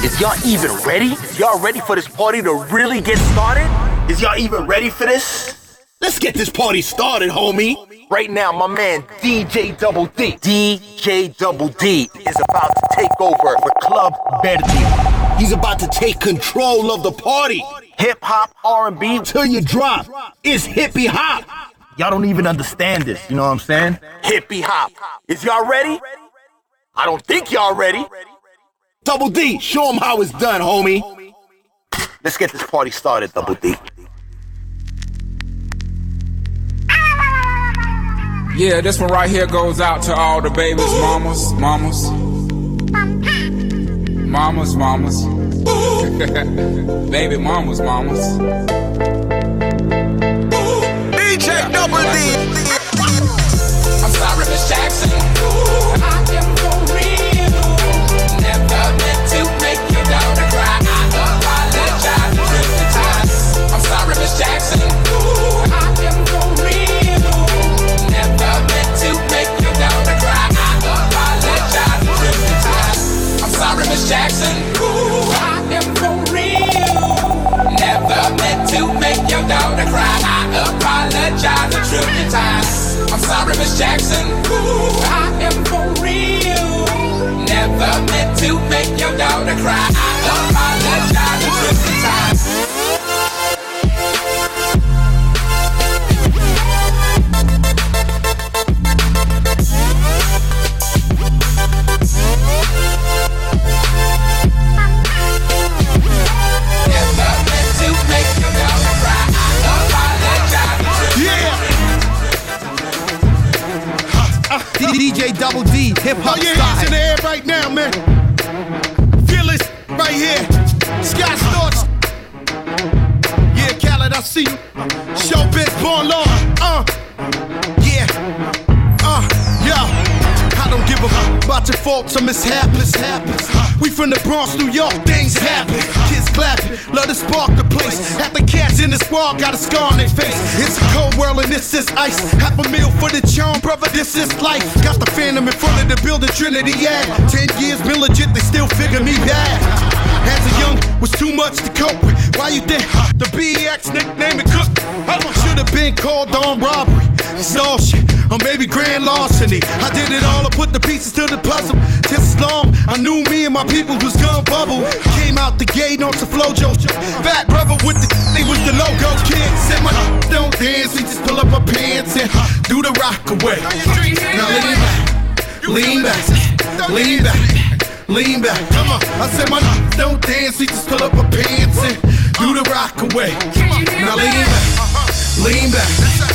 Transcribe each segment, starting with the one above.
Is y'all even ready? Is y'all ready for this party to really get started? Is y'all even ready for this? Let's get this party started, homie. Right now, my man DJ Double D is about to take over the Club Verdi. He's about to take control of the party. Hip hop, R&B, till you drop. It's hippie hop. Y'all don't even understand this, you know what I'm saying? Hippie hop. Is y'all ready? I don't think y'all ready. Double D, show him how it's done, homie. Let's get this party started, Double D. Yeah, this one right here goes out to all the babies, mamas. Baby mamas. DJ Double D. I'm sorry, Miss Jackson. I am for real. Never meant to make your daughter cry. I apologize a trillion times. I'm sorry, Miss Jackson. I am for real. Never meant to make your daughter cry. I apologize a trillion times. I'm sorry, Miss Jackson. I am for real. Never meant to make your daughter cry. I apologize a trillion times. I'm sorry, Miss Jackson. I am for real. Never meant to make your daughter cry. I apologize a trillion times. DJ Double D, hip hop Throw your style. hands in the air right now, man. Feel it right here. Sky Storch. Yeah, Khaled, I see you. Showbiz, born law. Yeah. Yo. I don't give a fuck about your faults or mishaps. We from the Bronx, New York, things happen. Kids clapping, love to spark the place. Half the cats in the squad got a scar on their face. It's a cold world and this is ice. $500,000 for the charm, brother, this is life. Got the Phantom in front of the building, Trinity, yeah. 10 years been legit, they still figure me bad. As a young, was too much to cope with. Why you think the BX nickname it Cook? Should've been called on robbery. Stall shit, or maybe grand larceny. I did it all, I put the pieces to the puzzle. Just as long, I knew me and my people was gonna bubble. Came out the gate on some flojo. Fat brother with the they was the logo kid. Said my don't dance, we just pull up our pants and do the rock away. Now lean back. Come on, I said my don't dance, we just pull up our pants and do the rock away. Now lean back.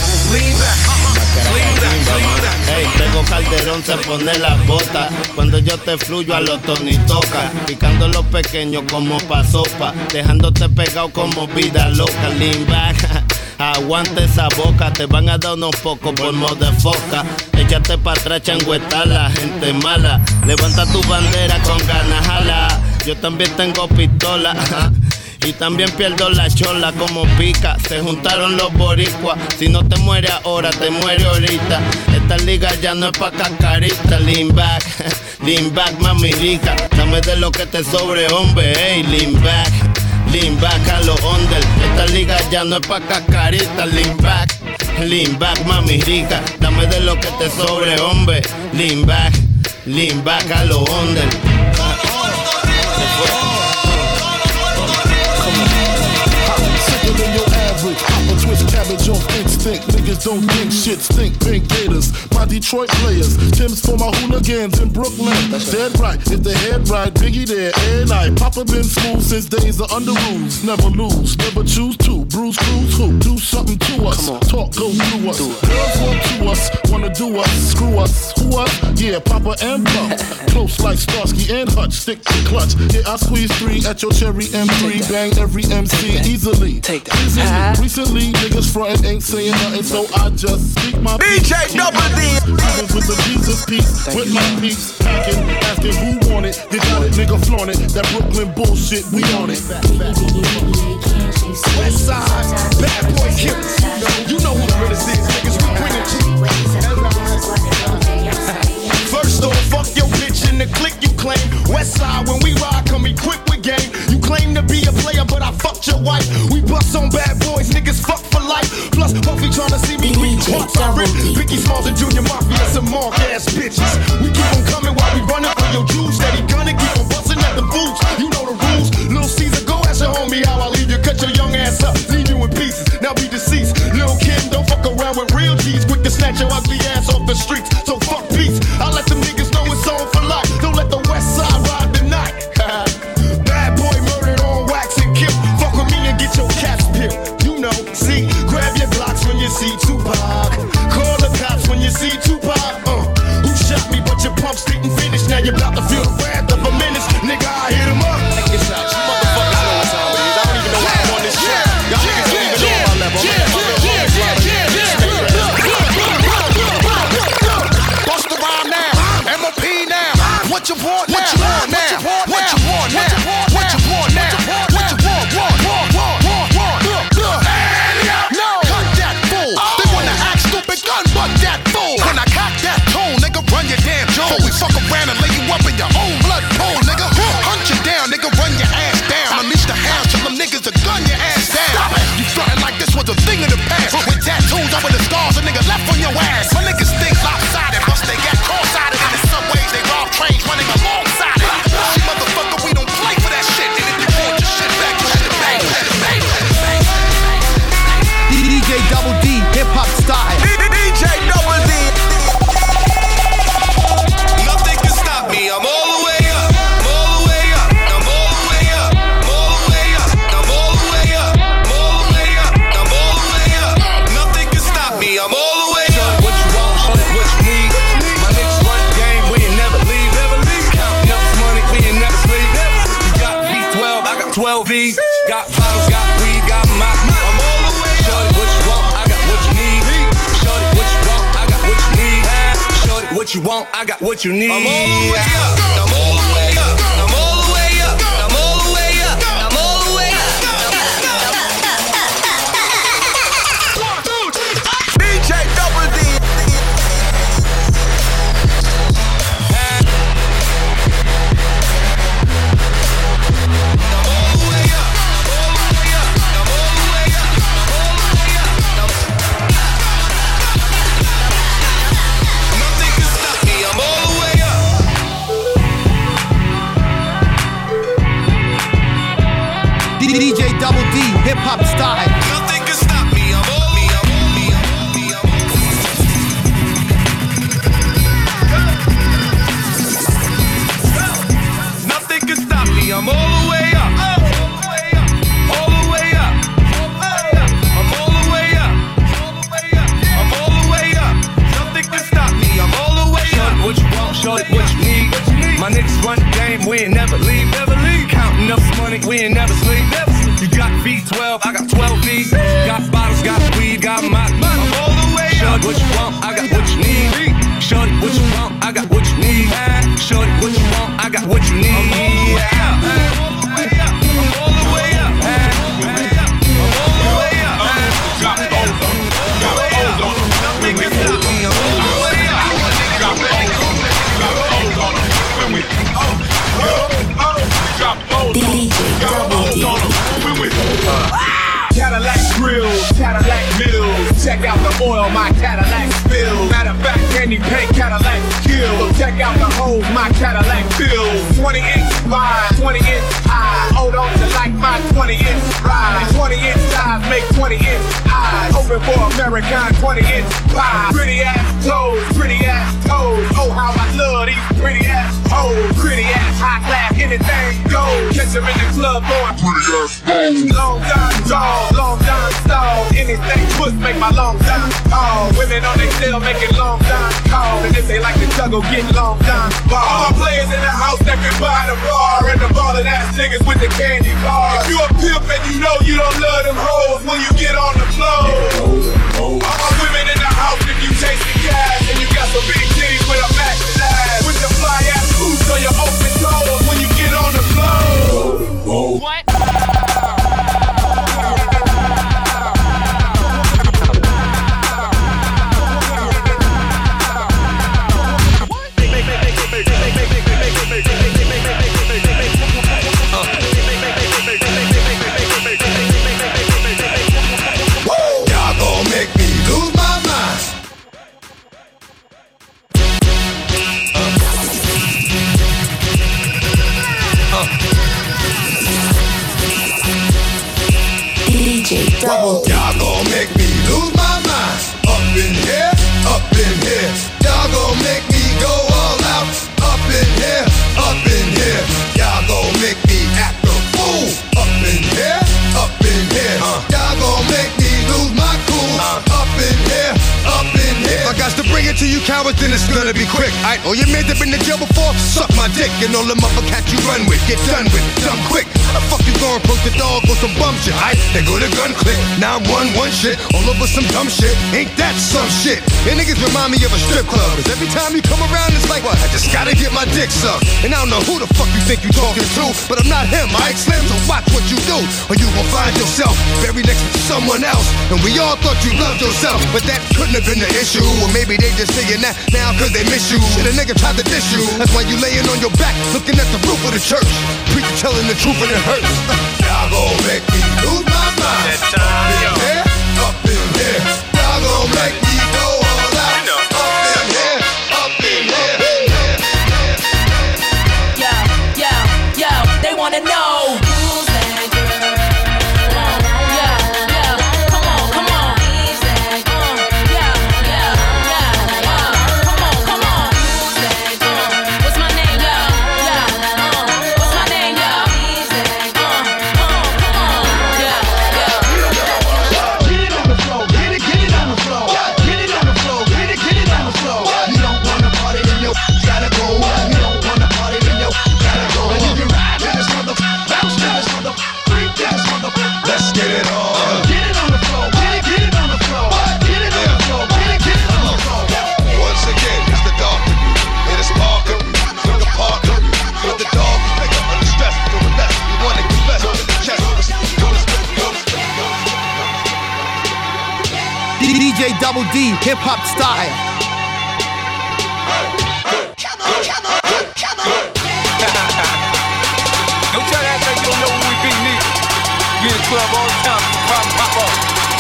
Hey, tengo Calderón, se pone las botas. Cuando yo te fluyo a los Tony toca. Picando los pequeños como pa' sopa. Dejándote pegado como vida loca. Lean back, aguanta esa boca. Te van a dar unos pocos polvos de foca. Échate pa' atrás, changüeta, la gente mala. Levanta tu bandera con ganas, jala. Yo también tengo pistola. Y también pierdo la chola como pica. Se juntaron los boricuas. Si no te muere ahora, te muere ahorita. Esta liga ya no es pa' cascarita. Lean back, mami rica. Dame de lo que te sobre, hombre. Hey, lean back a los under. Esta liga ya no es pa' cascarita. Lean back, mami rica. Dame de lo que te sobre, hombre. Lean back a los under. I'ma twist cabbage off instinct. Niggas don't think shit stink. Pink Gators, my Detroit players. Tim's for my hooligans in Brooklyn. Dead right, if the head right, Biggie there, and I. Papa been smooth since days of under rules. Never lose, never choose to. Bruise, cruise, who? Do something to us. Talk, go through us. Girls want to us, wanna do us. Screw us, who us? Yeah, Papa and Pump. Close like Starsky and Hutch. Stick to clutch. Yeah, I squeeze 3 at your cherry M3. Bang every MC easily. Take that. Recently, niggas frontin' ain't saying nothing, so I just speak my DJ Double D. With the Jesus piece, with my peace, packing, asking who want it. They got it, nigga flaunt it. That Brooklyn bullshit, we on it. West side, bad boy killers. You know who the realest is, niggas. We bring it to you. First off, fuck your bitch in the clique you claim. West side, when we ride, come equipped with game. Spitting finish, now you're about to feel the wrath of a menace. Nigga, I hit him up. Check this out, you motherfuckers know what time it is. I don't even know why I'm on this shit. Y'all niggas don't even know my level. Bust the rhyme now, MOP now. What you want now? What you want now? What you want now? What you want now? What you want? No, cut that fool. They wanna act stupid, gun butt that fool. When I cock that tone, nigga, run your damn jaw. Before we fuck around and lay you up in your own blood pool, nigga. Hunt you down, nigga, run your ass down. Unleash the hounds till them niggas will gun your ass down. You frontin' like this was a thing of the past. With tattoos over the scars, a nigga left on your ass. My niggas think lopsided, bust they got cross-sided. In the subways, they rob trains running alongside it. See, motherfucker, we don't play for that shit. And if you want your shit back, you should bang, bang. DJ Double D, hip hop style. DJ Double D. Nothing can stop me. I'm all the way up. I'm all the way up. I'm all the way up. I'm all the way up. I'm all the way up. I'm all the way up. I'm all the way up. Nothing can stop me. I'm all the way up. What you want? What you need? My niggas run game. We ain't never leave. Counting up this money. We ain't never sleep. You got V12. I got 12 V's. Got bottles. Got weed. Got my. I'm all the way up. Shorty, what you want? I got what you need. Shorty, what you want? I got what you need. Shorty, what you want? I got what you need. I'm all the way up. I'm all the way up. I'm all the way up. I'm all the way up. I'm all the way up. DJ Double D. DJ Double D, hip hop style. Nothing can stop me. I'm all me. I'm all me. I'm all me. I'm all me. Nothing can stop me. I'm all the way up. All the way up. I'm all the way up. I'm all the way up. Nothing can stop me. I'm all the way up. What you want? Shorty, what you need? My niggas run the game. We ain't never leave. Counting up some money. We ain't never sleep. You got V12, I got 12 V's. Got bottles, got weed, got my. I'm all the way up. Shorty, what you want? I got what you need. Shorty, what you want? I got what you need. Shorty, what you want? I got what you need. I'm all the way up. I'm all the way up. I'm all the way up. Got ozone. Nothing can stop me. I'm all the way up. Got ozone. When we drop ozone. Cadillac grills, Cadillac mills. Check out the oil my Cadillac spills. Matter of fact, candy paint Cadillac kills. Check out the holes my Cadillac fills. 20-inch wide, 20-inch high. Hold on to like my 20-inch ride. 20-inch size make 20-inch eyes. Open for American 20-inch pie. Pretty ass toes, pretty ass toes. Oh, how I love these pretty ass hoes. Pretty ass high class, anything goes. Catch them in the club going pretty ass hoes. Long time tall, long time stall. Anything push make my long time call. Women on they still making long time call. And if they like to juggle, get long time ball. All my players in the house that can buy the bar. And the ballin' ass niggas with the candy bar. If you a pimp and you know you don't love them hoes when you get on the floor. All my women in the house if you chasing cash. And you got some big titties with a matching ass. With the fly ass boots on your open toes when you get on the floor. What? Y'all gon' make me lose my mind. cowards, then it's gonna be quick. All your men that been to jail before, suck my dick. And all the motherfuckers you run with, get done with, dumb quick. How the fuck you gonna approach the dog with some bum shit? They go to gun click, 911 shit, all over some dumb shit. Ain't that some shit? And niggas remind me of a strip club. Cause every time you come around, it's like, what? I just gotta get my dick sucked. And I don't know who the fuck you think you talking to, but I'm not him, Ike Slim, so watch what you do, or you gon' find yourself buried next to someone else. And we all thought you loved yourself, but that couldn't have been the issue. Or maybe they just saying that now cause they miss you. Shit, a nigga tried to diss you. That's why you laying on your back, looking at the roof of the church. Preacher telling the truth and it hurts. Y'all gon' make me lose my mind. That time, yo. Up in here, y'all gon' make me go all out. Up in here, up in here. Yo, they wanna know who's that girl? Yeah, come on. Who's that girl? Yeah, come on. Who's that girl? What's my name? What's my name? Who's that girl? Come on. Yeah. Get it on the floor, get it on the floor. Get it on the floor, get it on the floor. You don't wanna party, then you gotta go. You don't wanna party, then you gotta go. And you can ride in this mother, bounce in this mother, freak in this mother. Let's get it on. Get it on the floor, get it on the floor. Get it on the floor, get it on the floor. Once again, it's the dog. It is Parker, look at Parker. With the dog, pick up under stress. So with that, you wanna confess to the chest. DJ Double D, hip hop style. Don't try to act like you don't know who we be, nigga. We in the club all the time, problem pop up.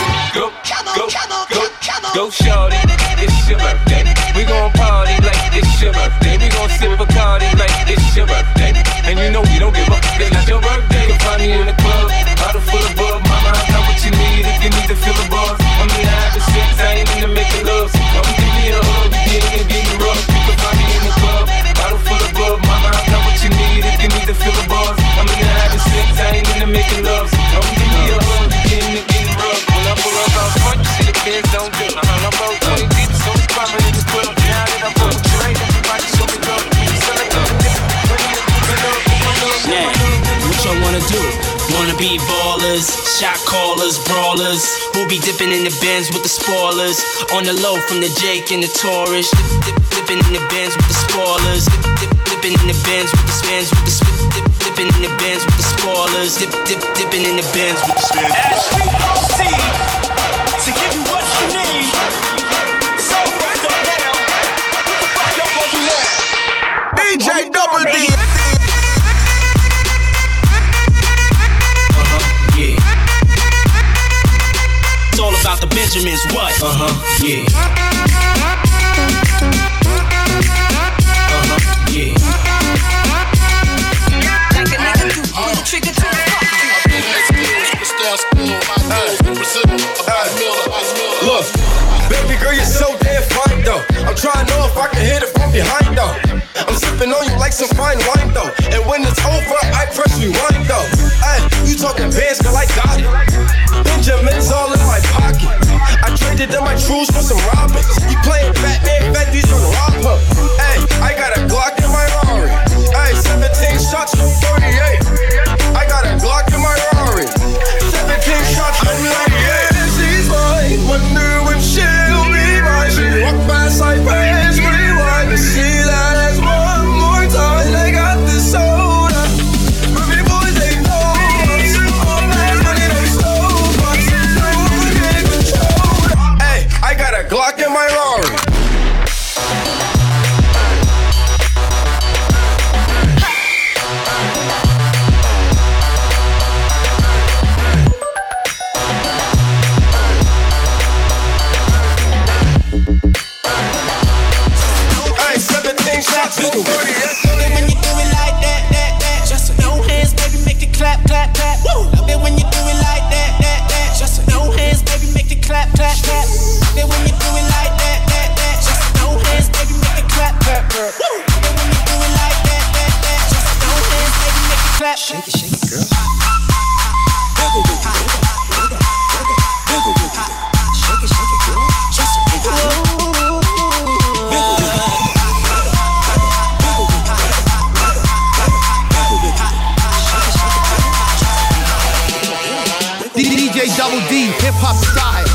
Go, shorty, it's your birthday. We gon' party like it's your birthday. We gon' sip Bacardi like it's your birthday. And you know we don't give up, it's not your birthday. You can find me in the club, bottle full of bug. Mama, I got what you need if you need to feel the buzz. I'm in the having sex, I ain't into making love. So come give me a hug, get me rough. You can find me in the club, bottle full of bug. Mama, I got what you need if you need to feel the buzz. I'm in the having sex, I ain't into making love. So come give me a hug, get me rough. When I pull up out front, you see the kids don't do. I'm about 20 deep, so it's poppin' in the club. Now that I'm on the train, everybody show me love. Now, what y'all wanna do? Wanna be ballers, shot callers, brawlers. We'll be dipping in the Benz with the spoilers. On the low from the Jake and the Taurus. Dipping in the Benz with the spoilers. Dipping in the Benz with the spins with the dipping in the Benz with the spoilers. Dipping in the Benz with the spins. HBOC to give you what you need. So right now, what the fuck y'all gonna do now? DJ Double D. Yeah. It's all about the Benjamins, what? Yeah. Yeah. Like a nigga do, pull the trigger to the Look, baby girl, you're so damn fine though. I'm trying to know if I can hit it from behind though. I'm sipping on you like some fine wine though. And when it's over, I press rewind though. Ay, you talking bands, girl, I got it. Benjamin's all in my pocket. I traded in my trues for some robbers. You playing Batman, Fendi's on rob her. Ay, I got a Glock in my Rari. Ay, 17 shots from 38. I got a Glock in my Rari. 17 shots from 38. She's mine. Wonder if she'll be mine. She walk past like praise, rewind to see that as one more time. They got this soda. Ruby boys, they know us. All that money they stole us. No get control. Hey, I got a Glock in my Rari. When you do it like that, just no hands, baby, make it clap, clap, clap. Love it when you do it like that, just no hands, baby, make it clap, clap, clap. Love it when you do it like that, just no hands, baby, make it clap, clap, clap. Love it when you do it like that, just no hands, baby, make it clap. Shake it, girl. Wiggle with it, wiggle with it, shake it, girl. Just wiggle. hip-hop style.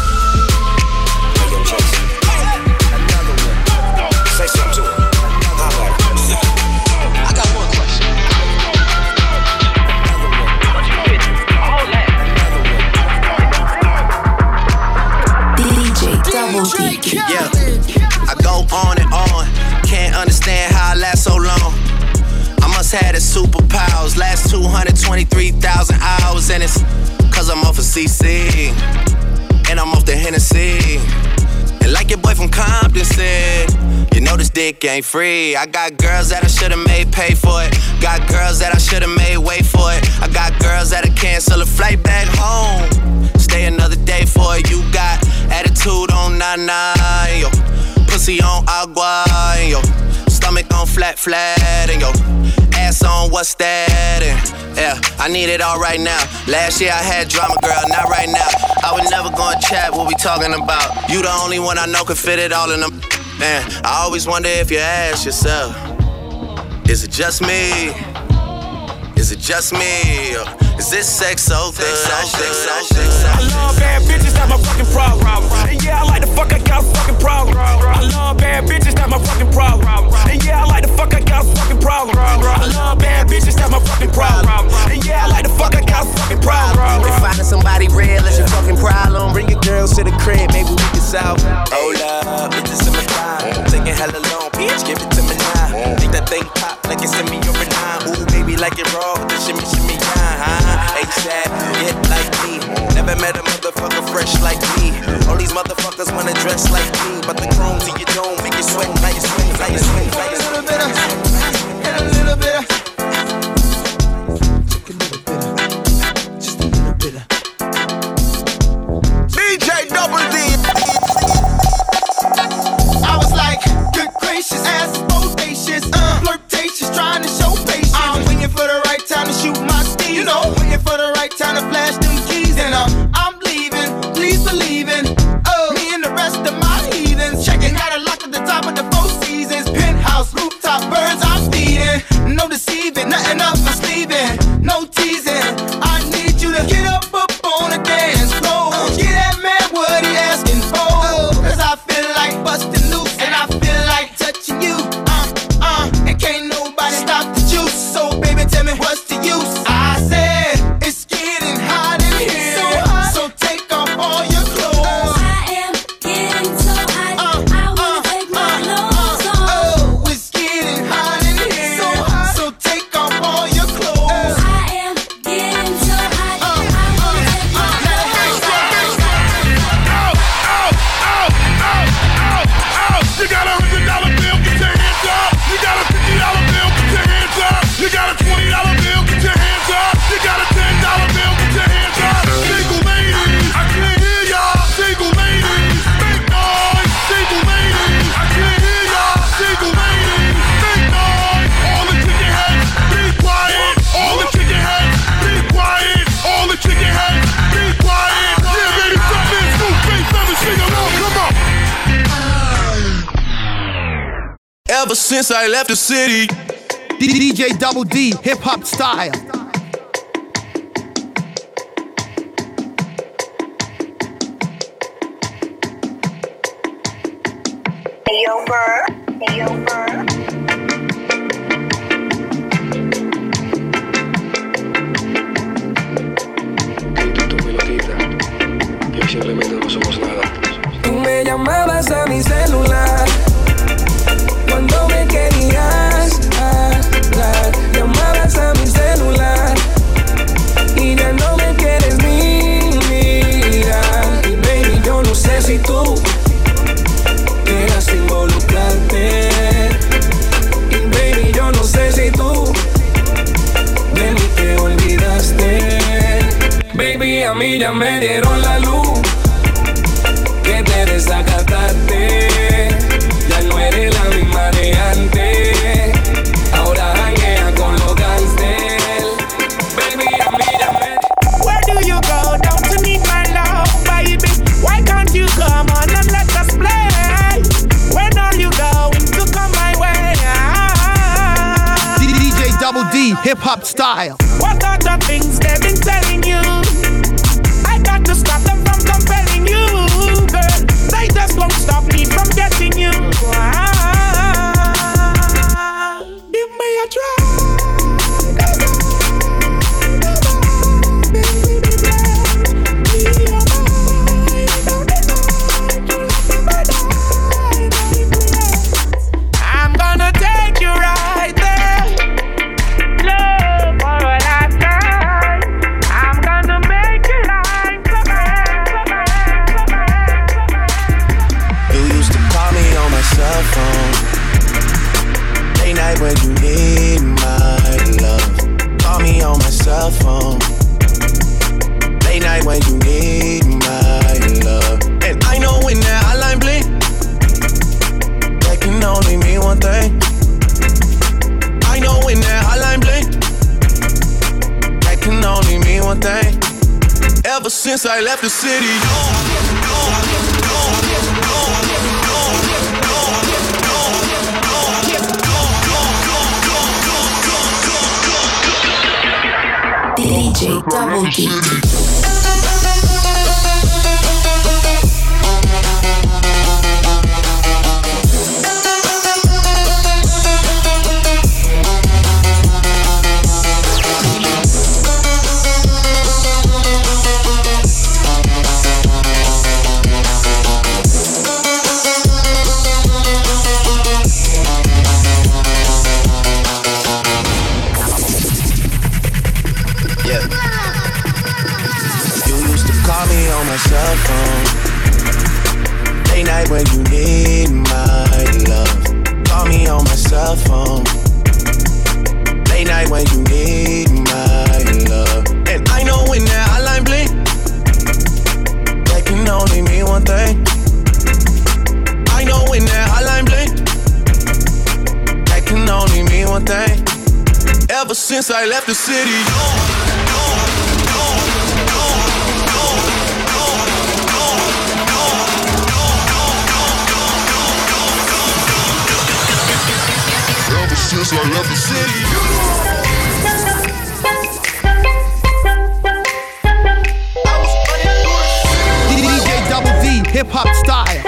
Say something to him. I got one question. DJ Double D. Yeah, I go on and on. Can't understand how I last so long. I must have the superpowers. Last 223,000 hours, and it's cause I'm off of CC. And I'm off the Hennessy. And like your boy from Compton said, you know this dick ain't free. I got girls that I should've made pay for it. Got girls that I should've made wait for it. I got girls that'll cancel a flight back home. Stay another day for it. You got attitude on nana, yo. Pussy on agua, and yo. Stomach on flat, and yo. Ass on what's that, and yeah, I need it all right now. Last year I had drama, girl, not right now. I would never go and chat what we talking about. You the only one I know could fit it all in them. Man, I always wonder if you ask yourself, is it just me? Is it just me? Or is this sex so good? I love bad bitches, that's my fucking problem. And yeah, I like the fuck, I got a fucking problem. I love bad bitches, that's my fucking problem. And yeah, I like the fuck, I got a fucking problem. I love bad bitches, that's my fucking problem. And yeah, I like the fuck, I got a fucking problem. If finding somebody real is your fucking problem, bring your girls to the crib, maybe we can solve. Hold up, bitches in my time. Taking hella long, bitch, give it to me now. Make that thing pop like it's in me over now. Ooh, baby, like it raw, shimmy, shimmy, ASAP, get like me. Never met a motherfucker fresh like me. All these motherfuckers wanna dress like me, but the chrome to your dome make you sweat like you swing, like you swing, like you swing. A little bit of, and a little bit of. Just a little bit of. DJ Double D. I was like, good gracious, ass bodacious, flirtatious, trying to show patience. I'm waiting for the right time to shoot my steam. You know, waiting for the right time to flash them keys. And I'm leaving, please believe in. Me and the rest of my heathens. Checking out a lock at the top of the Four Seasons. Penthouse, rooftop, birds I'm feeding. No deceiving, nothing up my sleeving. No teasing, I need you to get up on the dance floor. Get that man what he asking for. Cause I feel like busting loose and I feel like touching you. And can't nobody stop the juice. So baby, tell me what's the use? I said it's getting hot in here, so take off all your clothes. I am getting so hot, I wanna take my clothes off. Oh, it's getting hot in here, so take off all your clothes. I am getting so hot, I wanna take my clothes off. You got $100 bill, get your hands up. You got a $50 bill, get your hands up. You got a $20 bill, get your hands up. You got a $10 bill, get your hands up. Single ladies, I can't hear y'all. Single ladies, make noise. Single ladies, I can't hear y'all. Single ladies, make noise. All the chicken heads, be quiet. All the chicken heads, be quiet. All the chicken heads, be quiet. Yeah, baby, jump in, scoop, bass, let me sing along. Come on. Ever since I left the city, DJ Double D, hip-hop style. Ayo, Burr. Ayo, Burr. Simplemente no somos nada. Tú me llamabas a mi celular cuando me querías hablar. Llamabas a mi celular y ya no me quieres ni mirar. Y baby, yo no sé si tú quieras involucrarte. Y baby, yo no sé si tú de mí te olvidaste. Baby, a mí ya me dieron la luz que te desacataste. Ya no eres la misma de antes. Ahora janguea con los gangsters. Baby, a mí ya me... Where do you go? Don't you need my love, baby? Why can't you come on and let us play? When are you going to come my way? DJ Double D, hip-hop style. What are the things they've been telling you? I got to stop them from comparing. night when you need my love. Call me on my cell phone. Late night when you need my love. And I know when that hotline blink, that can only mean one thing. I know when that hotline blink, that can only mean one thing. Ever since I left the city, DJ Double D. cell phone. Late night when you need my love. Call me on my cell phone. Late night when you need my love. And I know when that hotline blink, that can only mean one thing. I know when that hotline blink, that can only mean one thing. Ever since I left the city, since I left the city. DJ Double D, hip hop style.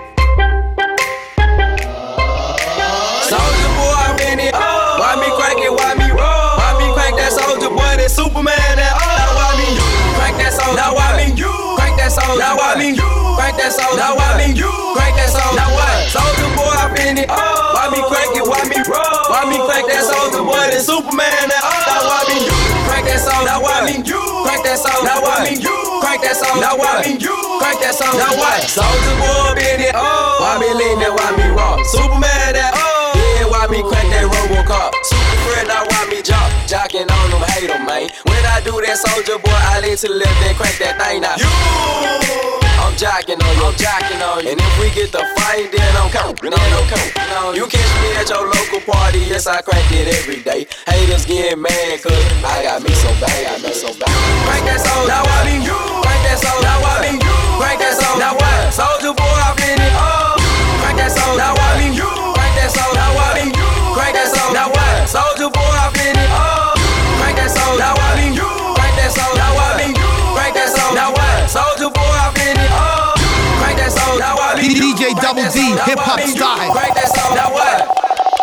Soldier boy, I'm in it. Why me crack it? Why me roll? Why me crack that soldier boy? That Superman. That now why me crack that soldier? Now why me crack that soldier? Now why me crack that soldier? Now why me crack that soldier? Now what? Soldier boy, I'm in it. Why me crack it? Why me roll? Why me crack that soldier boy? That Superman. That now why me crack that soldier? Now why me crack that soldier? Now why me crack that soldier? Now why me crack that soldier? Now what? Soldier boy, in it. Why me lean that? Why me rock? Superman. That why me crack that Robocop? Super friend, now why me jocking on them, hate them, man. When I do that soldier boy, I lean to the left and crack that thing out. I'm jocking on you, I'm jocking on you. And if we get the fight, then I'm counting on you. Catch me at your local party, yes, I crack it every day. Haters getting mad, cause I got me so bad, Crack that soldier, now why me crack that soldier, now why me crack that soldier, now what? Soldier boy, I'm in it, crack that soldier, now why me crack that soldier, now why me crack that soldier, now what? Soldier boy, I'm in it, crack that soldier, now why me crack that soldier, now why me crack that soldier, now what? Soldier boy, I'm in it, crack that soldier, now why me DJ Double D, hip hop style. Crack that soldier, now what?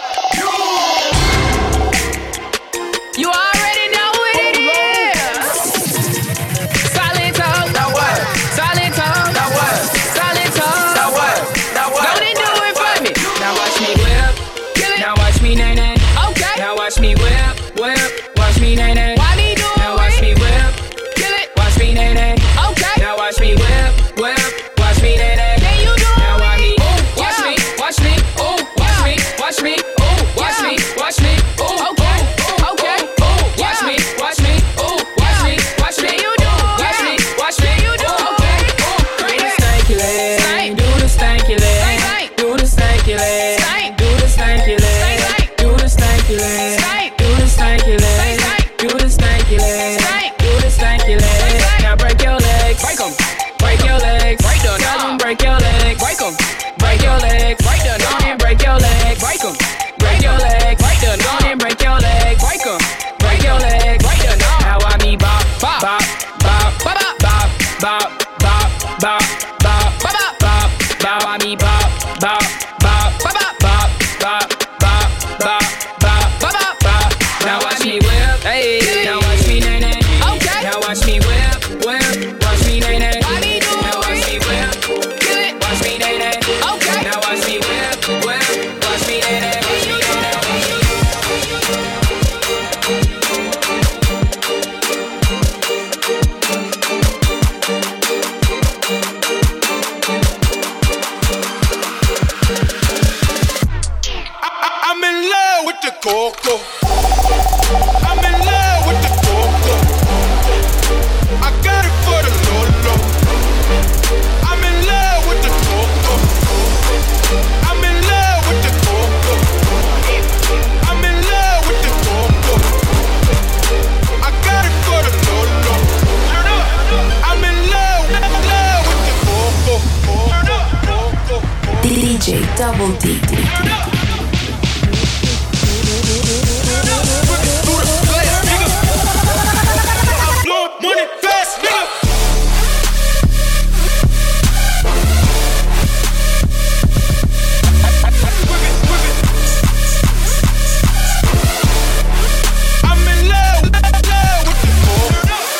You already know what it is. Silent talk. Now what? Silent talk. Now what? Silent talk. Now what? Now what? Go and do it for me. Now watch me whip. Kill it. Now watch me nay nay. Okay. Now watch me whip. Watch me nay nay. Why me do it? Now watch me whip. Kill it. Watch me nay nay. Okay. Now watch me whip. Watch me nay nay. Can you do it? Now watch me. Watch me. Watch me. Oh. Watch me. Watch me. Oh. Watch me. Watch me. Oh. Okay. Okay. Watch me. Watch me. Oh. Watch me. Watch me. You do. Watch me. Watch me. You do. Okay. Do the stanky leg. Do the stanky leg. Do the stanky leg. Do the stanky leg. Do the stanky leg. Do the stanky leg. Do the stanky the coco. I'm in love with the coco. I got it for the Lolo. I'm in love with the coco. I'm in love with the coco. I'm in love with the coco. I got it for the Lolo. I'm in love with the coco. DJ Double D. Money fast, nigga. I'm in love with the coco.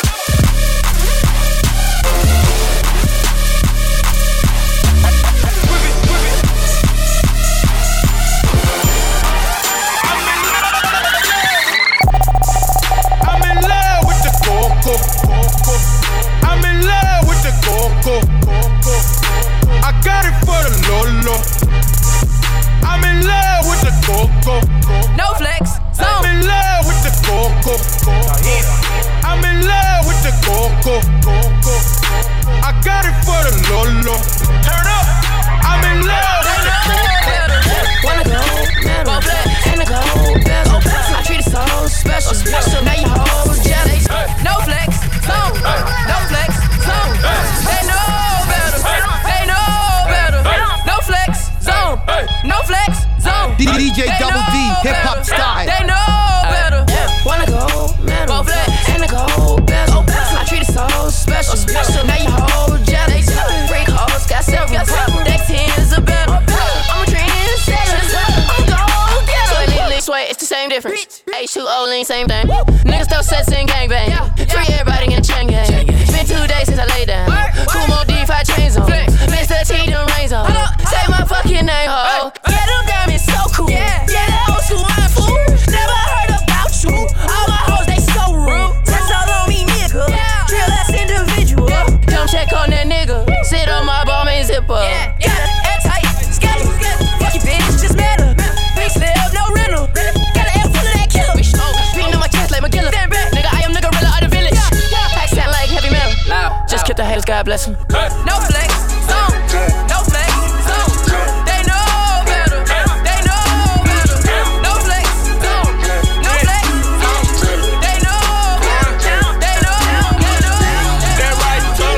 I'm in love with the coco. I got it for the Lolo. I'm in love with the coco. No flex, I'm in love with the coco. I'm in love with the coco. I got it for the Lolo. Turn up. I'm in love with the coco. Wanna go metal, and a gold bezel. I treat it so special. Now you hold jealous. No flex, zone. No flex, zone. They know better. They know better. No flex, zone. No flex, zone. DJ Double D, hip hop style. They know better. Wanna go metal, and a gold bezel. I treat it so special. Now you hold jealous. Freak hoes got several. Deck 10s are better. I'm a trendsetter. I'm gold getter. Sway, it's the same difference. H2O lean, same thing. Niggas throw sets in gangbang. Free everybody in the chain gang. It's been 2 days since I laid down. Kumo D5 chains on. Mr. T done rains on. Say my fucking name, ho. Yeah, them diamonds so cool. Yeah, that old school wine fool. Never heard about you. All my hoes, they so rude. Touch all on me, nigga. Real ass individual. Come check on that nigga. Sit on my ball, main zipper. Yeah, airtight, schedule. Fuck your bitch, just met her. Big slip, no rental. Got an L full of that killer. Beating on my chest like McGilla. Nigga, I am the gorilla of the village. Pack sound like heavy metal. Just kill the haters, God bless them. No flex, zone. No flex, zone. They know better. They know better. No flex, zone. No flex, zone. They know better. They know. That right, too.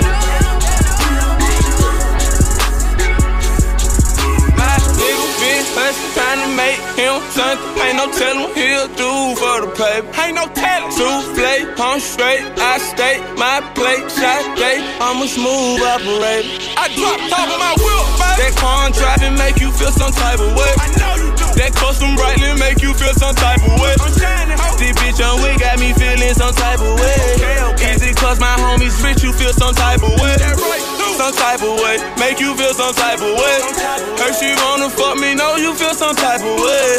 My nigga been hustling, trying to make him something. Ain't no telling he'll do for the paper. Ain't no telling. Souffle, I'm straight, I stay, my plate, shot day. I'm a smooth operator. I drop top of my wheel, baby. That car driving make you feel some type of way. I know you do. That custom brightly make you feel some type of way. I'm shining, ho. This bitch on we got me feeling some type of way. Okay. Easy cause my homies rich, you feel some type of way. That right, too. Some type of way, make you feel some type of way. Her she wanna fuck me, know you feel some type of way.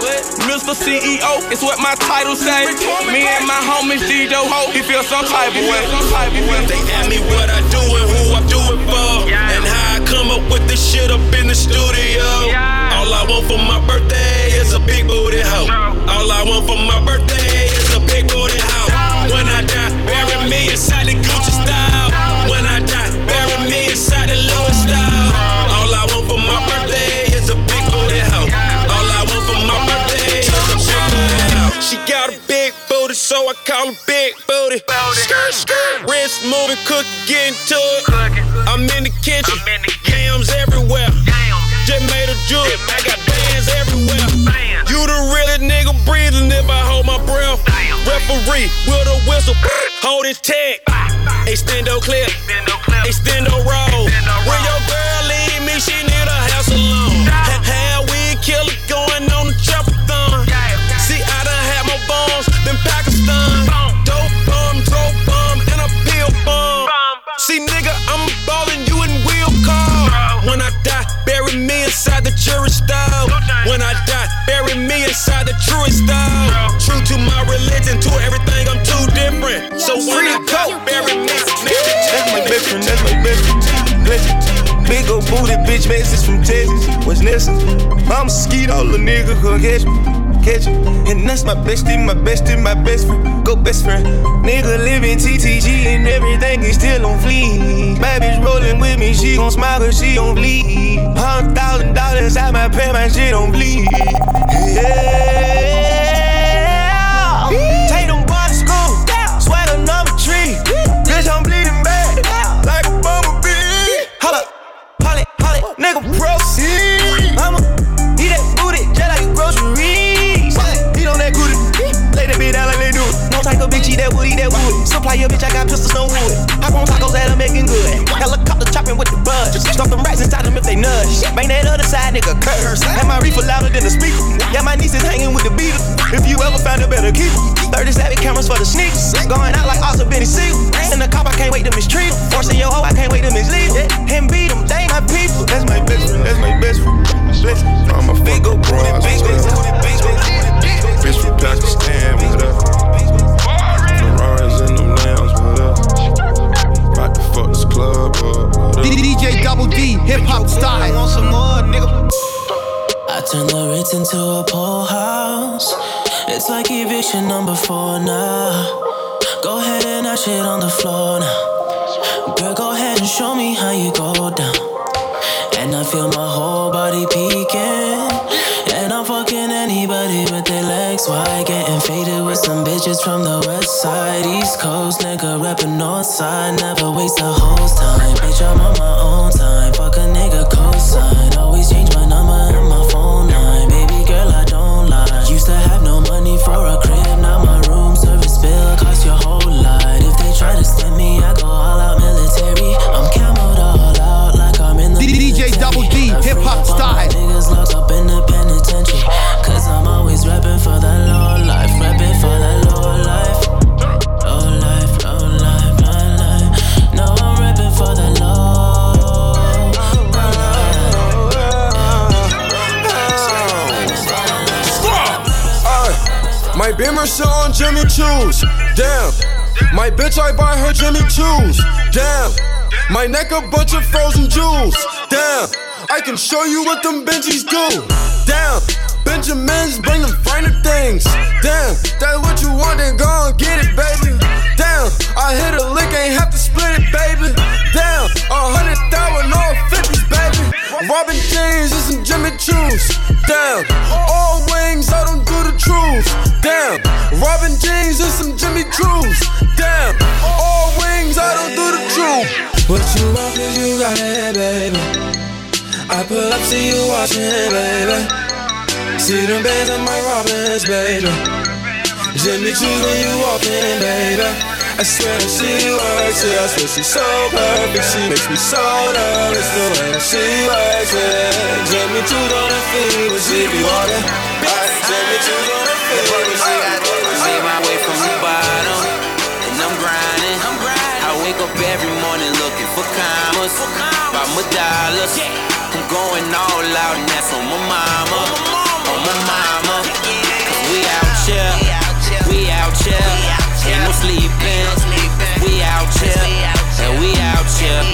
Mr. CEO, it's what my title say. Me and my homies G-Do Ho, he feel some type of way. They ask me what I do and who I do it for, and how I come up with this shit up in the studio. All I want for my birthday is a big booty hoe. All I want for my birthday is a big booty hoe. When I die, bury me inside the Gucci style. When I die, bury me inside the Louis style. All I want for my birthday is a big booty hoe. All I want for my birthday is a big booty hoe. She got a big booty, so I call her Big Booty. Skirt, skirt, wrist moving, cook, getting to it. I'm in the kitchen, yams everywhere. Just made a jewel, I got bands everywhere. You the realest nigga breathing if I hold my breath. Referee with a whistle, hold his tag. Extendo clip, extendo roll. When your girl leave me, she need a house alone. Had weed killer going on the chopper-thon. See, I done had more bombs than Pakistan. Dope bomb, and a pill bomb. See, nigga, I'm ballin' you in wheel car. When I die, bury me inside the jury style. When I die, bury me inside the truest style. True to my religion, to everything, I'm too different. So when I go, bury me. That's my best friend, that's my best friend. Big ol' booty bitch, message from Texas. What's next? I'm a skeet, all the nigga could catch me. catch it. And that's my bestie, my bestie, my best friend. Go best friend. Nigga living TTG and everything is still on fleek. My bitch rolling with me, she gon' smile cause she on bleed. $100,000 out my pay, my shit on bleed. Yeah. Take them boys to school, sweat a number 3. Bitch, I'm bleeding back like a bumblebee. Hold up, hold it, nigga proceed. I'ma eat that booty just like a grocery. Eat on that booty, lay that bitch down like they do. No type of bitch eat that wood, Supply your bitch, I got pistols, no wood. Hop on tacos that are making good. Helicopter chopping with the buzz. Stuff them rats inside them if they nudge. Bang that other side, nigga, curse. And my reefer louder than the speaker. Yeah, my niece is hanging with the Beatles. If you ever found a better keeper. 37 cameras for the sneakers. Going out like Oscar Benny Siegel. In the cop, I can't wait to mistreat him. Forcing your hoe, I can't wait to mislead him. And beat him, they my people. That's my best friend, that's my best friend. I'm a big old bro. Bitch from Pakistan with us. Ferraris in them lambs with us. About to fuck this club up. DJ Double D, hip hop style. Want some more, nigga? I turn the Ritz into a pool house. It's like eviction number 4 now. Go ahead and ash it on the floor now. Girl, go ahead and show me how you go down. And I feel my whole body peeking. And I'm fucking anybody with their legs wide. Getting faded with some bitches from the west side. East Coast, nigga rapping north side. Never waste a host time. Bitch, I'm on my own time. Fuck a nigga cosign. Always change my number and my phone line. Baby girl, I don't lie. Used to have no money for a crib. Now my room service bill cost your whole lot. If they try to stem me, I go all out military. I'm camoed all out like I'm in the DJ Double D, hip hop style. Niggas locked up in the penitentiary. Cause I'm always rapping for that low life. Rapping for that low life. Low life, low life, low life. No, I'm rapping for that low life. My Beamer sit on Jimmy Choo's. Damn. My bitch, I buy her Jimmy Choo's. Damn. My neck a bunch of frozen jewels. Damn. I can show you what them Benjis do. Damn. Benjamins bring them finer things. Damn, that's what you want, then go and get it, baby. Damn, I hit a lick, ain't have to split it, baby. Damn, 100,000 all 50s, baby. Robin jeans and some Jimmy Choo's. Damn, all wings, I don't do the truth. Damn, Robin jeans and some Jimmy Choo's. Damn, all wings, I don't do the truth. What you want, cause you got it, baby. I pull up, see you watching, baby. See them bands on my Robins, baby. Jimmy Choo's when you walk in, baby. I swear that she works it. I swear she's so perfect. She makes me so nervous the way that she works it. Jimmy Choo's on her feet when she be walking. Jimmy Choo's on her feet when she be walking. I made my way from the bottom, and I'm grinding. I wake up every morning looking for commas, by my dollars. I'm going all out and that's on my mama. On my mama, cause we out here, ain't no sleeping. We out here, and we out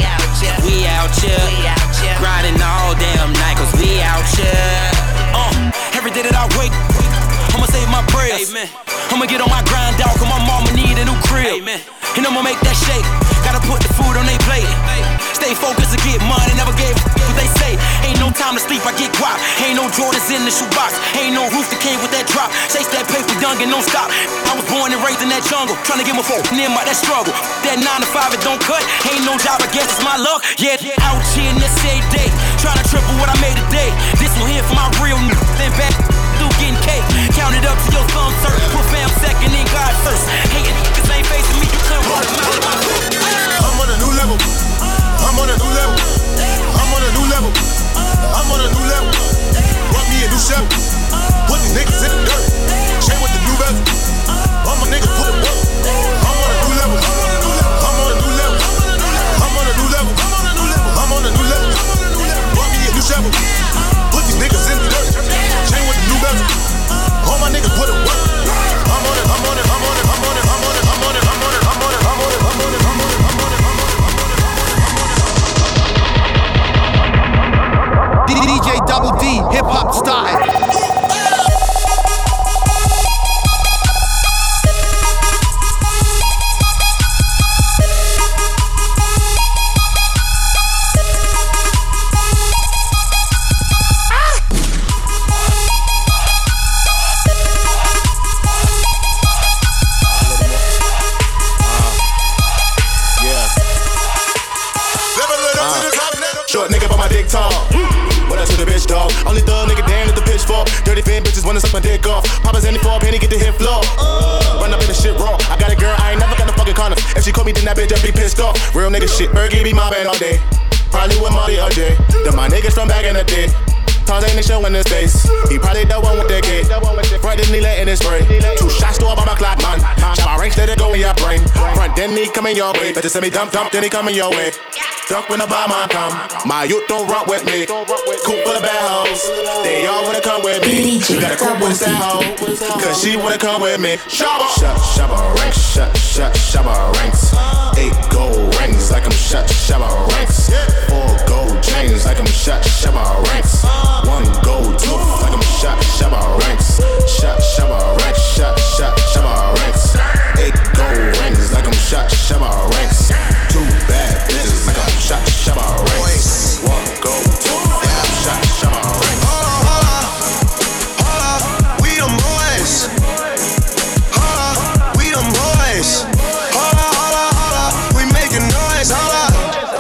here, grinding all damn night, cause we out here. Every day that I wake, I'ma say my prayers. I'ma get on my grind, dog, cause my mama need a new crib. And I'ma make that shake, gotta put the food on they plate. Stay focused to get money, never gave what they say. Ain't no time to sleep, I get guap. Ain't no Jordans in the shoebox. Ain't no roof that came with that drop. Chase that paper young and don't stop. I was born and raised in that jungle, trying to get my phone near my that struggle. That 9 to 5, it don't cut. Ain't no job, I guess it's my luck. Yeah, out here in this every day, trying to triple what I made today. This one here for my real niggas, then back through getting cake. Count it up to your thumb, sir. Put fam second, then God first. Hating niggas ain't facing me, you couldn't run them out of my hood. I'm on a new level. I'm on a new level. I'm on a new level. I'm on a new level. Brought me a new chef. Put these niggas in the dirt. Chain with the new bezel. All my niggas put it work. I'm on a new level. I'm on a new level. I'm on a new level. I'm on a new level. Brought me a new chef. Put these niggas in the dirt. Chain with the new bezel. All my niggas put it work. talk. What else to the bitch, dog? Only thug nigga damn at the pitchfork. Dirty fan bitches wanna suck my dick off. Papa's any for a penny, get the hit floor. Run up in the shit raw. I got a girl, I ain't never got no fucking condoms. If she call me, then that bitch just be pissed off. Real nigga shit, Bergie be mobbing all day. Probably with Marty all day. Then my niggas from back in the day. Tons ain't showing his face. He probably the one with that gate. Right then he letting it spray. 2 shots to up on my clock, man. Shot my range, let it go in your brain. Front then he coming your way. Better send me dump, then he coming your way. Duck when the bomb come. My youth don't rock with me. Cool for the bad hoes. They all wanna come with me. You gotta cool with that hoe. Cause she wanna come with me. Shabba ranks. Shabba ranks. 8 gold rings like I'm Shabba ranks. 4 gold chains like I'm Shabba ranks. 1 gold tooth like I'm Shabba ranks. Shabba ranks. Shabba ranks. 8 gold rings like I'm Shabba ranks. 2 bad bitches like I'm Shabba ranks. 1 gold tooth like I'm Shabba ranks. Hold up, we them boys. Hold up, we them boys. Hold up, we making noise. Hold up.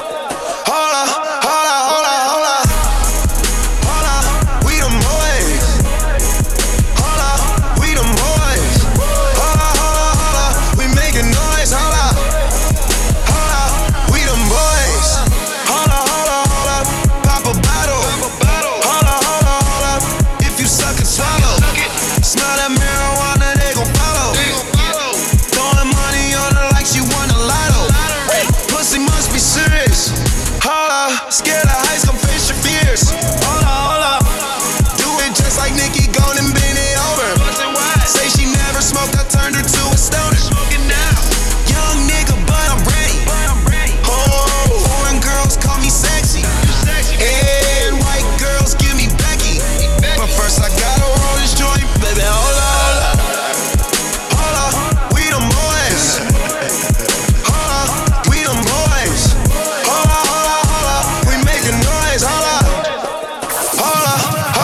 Scared of heights, come face your fears. Hold up. Do it just like Nicki, gone and bend it over. Say she never smoked, I turned her to a stoner. Young nigga, but I'm ready. Oh, foreign girls call me sexy. And white girls give me Becky. But first I gotta roll this joint, baby, hold up. Hold up, we them boys. Hold up, we them boys. Hold up. Noise, hold up. Hold up.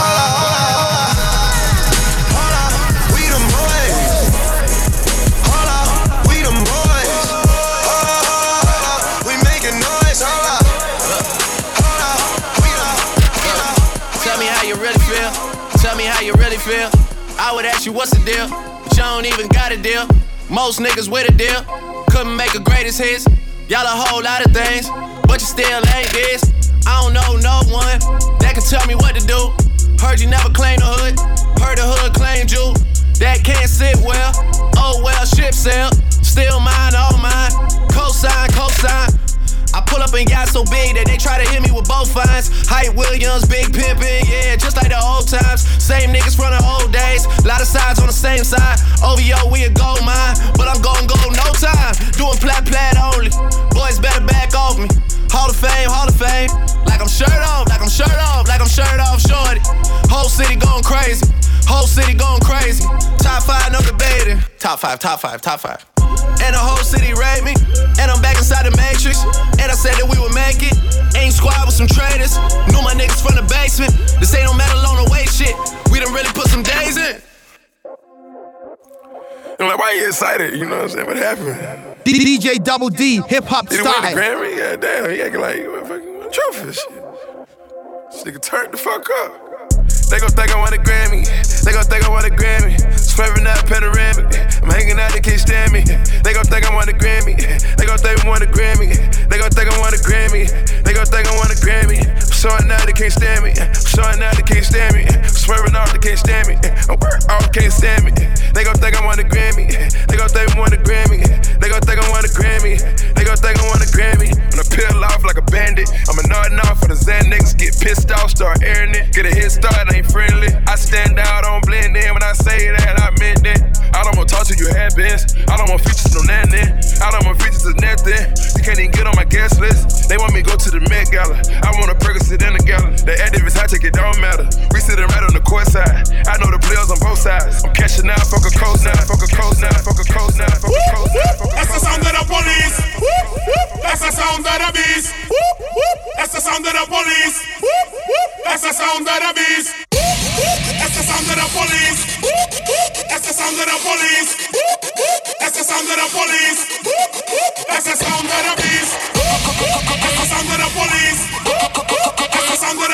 We them boys. Hold up. We them boys. Hold up. We making noise, hold up. Tell me how you really feel. Tell me how you really feel. I would ask you what's the deal, but you don't even got a deal. Most niggas with a deal couldn't make a greatest hits. Y'all a whole lot of things, but you still ain't this. I don't know no one that can tell me what to do. Heard you never claimed the hood. Heard the hood claimed you. That can't sit well. Oh well, ship sail. Still mine, all mine. Cosign. I pull up and got so big that they try to hit me with both fines. Hype Williams, big pimpin', yeah, just like the old times. Same niggas from the old days. Lot of sides on the same side. OVO, we a gold mine, but I'm gon' go no time. Doing plat only. Boys better back off me. Hall of Fame. Like I'm shirt off, shorty. Whole city going crazy. Top 5, no debating. Top 5. And the whole city rate me. And I'm back inside the Matrix. And I said that we would make it. Ain't squad with some traitors. Knew my niggas from the basement. This ain't no metal on the weight shit. We done really put some days in. I'm like, why you excited? You know what I'm saying? What happened? DJ Double D, hip hop Did he style. win the Grammy? Yeah, damn. He acting like he fucking trophy shit. This nigga turned the fuck up. They gon' think I want a Grammy. Swerving out panoramic. I'm hanging out, they can't stand me. They gon' think I want a Grammy. They gon' think I want a Grammy. I'm showing out, they can't stand me. Swerving off, they can't stand me. I'm work off, can't stand me. They gon' think I want a Grammy. They gon' think I want a Grammy. When I peel off like a bandit, I'm a nodding off for the Xan niggas. Get pissed off, start airing it. Get a head start, ain't friendly. I stand out, don't blend in. When I say that, I meant it. I don't want to talk to you, have-beens. I don't want features, no nothing. I don't want features, is nothing. You can't even get on my guest list. They want me to go to the Met Gala. I want a Percocet in the gala. The activists, I take it, don't matter. We sitting right on the court side. I know the players on both sides. I'm cashing out, fuck a coast now. That's the sound of the police. That's the sound of the beast. That's the sound of the police. That's the sound of the beast. That's the sound of the police. That's the sound of the police. That's the sound of the police. That's the sound of the beast. That's the sound of the police. That's the sound of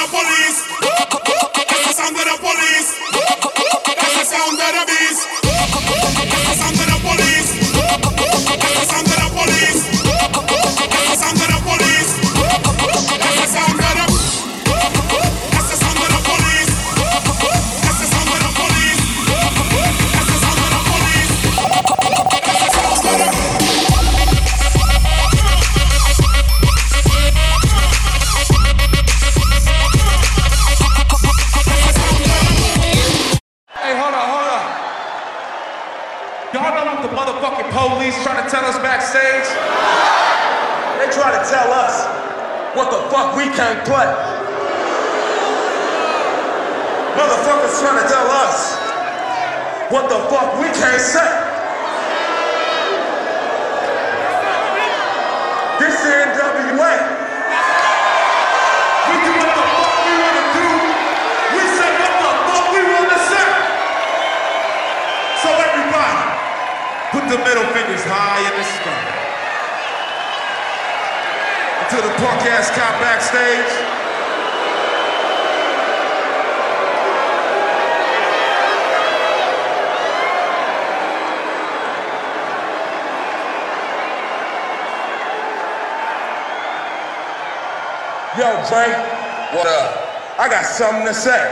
Y'all know what the motherfucking police trying to tell us backstage? They try to tell us what the fuck we can't play. Motherfuckers trying to tell us what the fuck we can't say. This is NWA. We do what the fuck we want to do. We say what the fuck we want to say. So everybody, put the middle fingers high in the sky. Until the punk ass cop backstage. Yo, Dre. What up? I got something to say.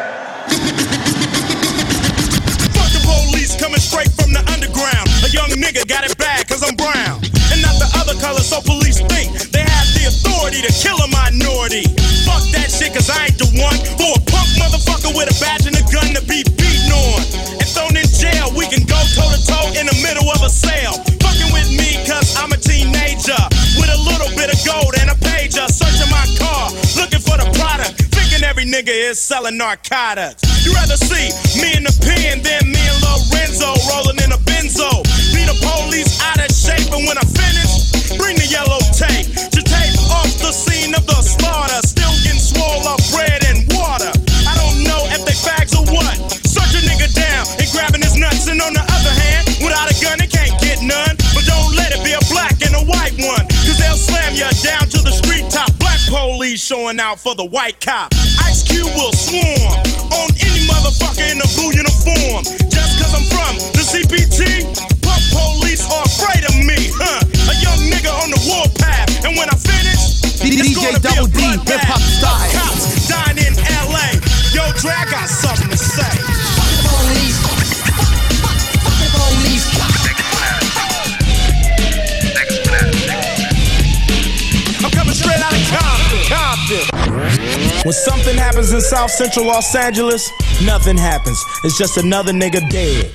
Fuck the police coming straight from the underground. A young nigga got it bad cause I'm brown. And not the other color, so police think they have the authority to kill a minority. Fuck that shit cause I ain't the one for a punk motherfucker with a badge and a gun to be beaten on. And thrown in jail, we can go toe to toe in the middle of a sale. Fucking with me cause I'm a teenager with a little bit of gold and a pager. Searching my car, looking for the product, thinking every nigga is selling narcotics. You rather see me in the pen than me and Lorenzo rolling in a benzo. Be the police out of shape, and when I finish, bring the yellow tape to tape off the scene of the slaughter. Still getting swole up bread and water. I don't know if they fags or what. Search a nigga down and grabbing his nuts, and on the other hand, without a gun, they can't get none. But don't let it be a black and a white one, cause they'll slam you down to the street top. Black police showing out for the white cop. Ice Cube will swarm on any motherfucker in a blue uniform. Just cause I'm from the CPT, punk police are afraid of me, huh? A young nigga on the warpath, and when I finish, it's gonna be a bloodbath. Hip-hop style. Cops dying in LA. Yo, Dre, I got something to say. Fuck the police. Fuck the police. I'm coming straight out of Compton. When something happens in South Central Los Angeles, nothing happens. It's just another nigga dead.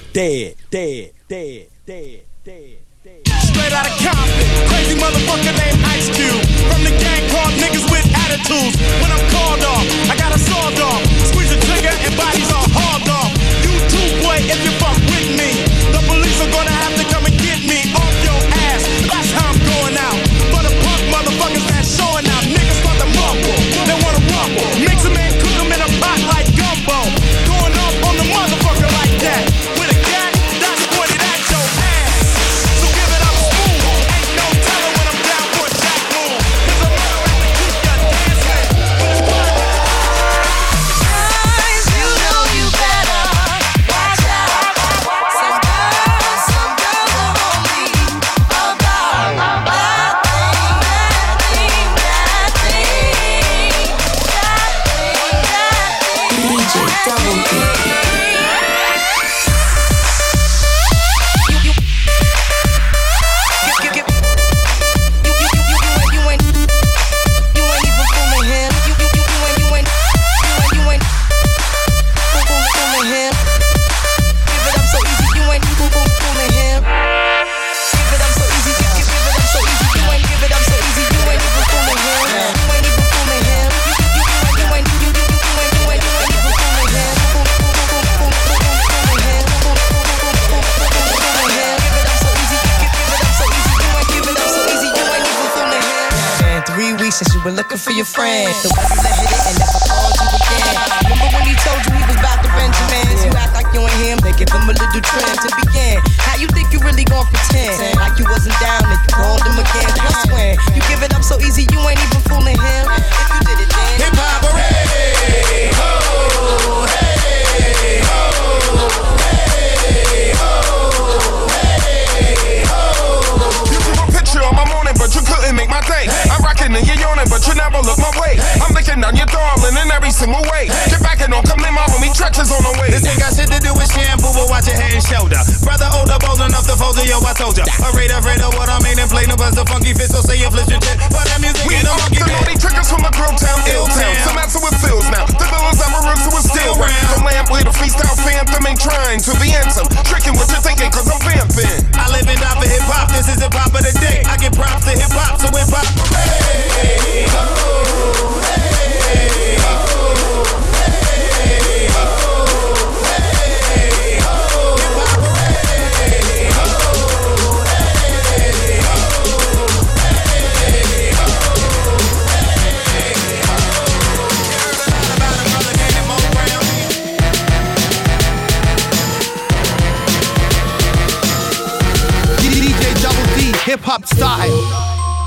Straight out of Compton, crazy motherfucker named Ice Cube. From the gang called niggas with attitudes. When I'm called off, I got a sawed off. Squeeze the trigger and bodies are hauled off. You too, boy, if you fuck with me, the police are gonna have to come and get me off your ass. That's how I'm going out. For the punk motherfuckers that's showing out. Niggas start to mumble, they wanna rumble. Mix them and cook them in a pot like gumbo. Going off on the motherfucker like that. With a gat, that's pointed at your ass. So give it up smooth. Ain't no telling when I'm down for a jack move. Cause I'm gonna have to keep ya dancing. Guys, you know you better watch out. Some girls are only about that thing. DJ Double D. Since you were looking for your friend, the way you let hit it and never called you again. Remember when he told you he was about to Benjamins? You act like you ain't him, they give him a little trim to begin. How you think you really gon' pretend like you wasn't down and you called him again? Plus when you give it up so easy, you ain't even fooling him. If you did it then, hip hop, hey ho, hey ho, hey ho, hey ho. You drew a picture on my morning, but you couldn't make my day. I'm rocking and you're yawning, but you never look my way. I'm looking down your darling in every single way. Get back and don't come in my homie, Treacher's on the way. This ain't got shit to do with shampoo, but watch your head and shoulder. Brother older, bold enough to fold it, yo, I told ya. Afraid of what I mean and play no buzz the funky fit, so say you flip your jet. But that music we ain't no monkey the naughty triggers from the Grove Town, Ill Town. Some answer with feels now. The villains I'm a roots who are still round. The lamp with a freestyle phantom ain't trying to be handsome. Tricking what you're thinking, cause I'm vamping. hip hop style.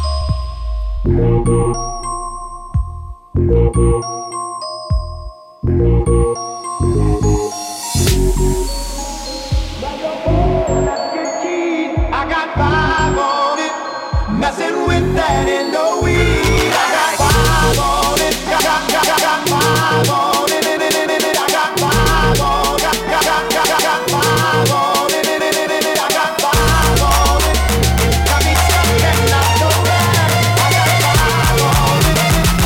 I got 5 on it, messing with that in the weed. I got 5 on it, got 5 on it, I got 5 on it, got 5 on it, I got 5 on it. Got me stuck and out the rest. I got 5 on it.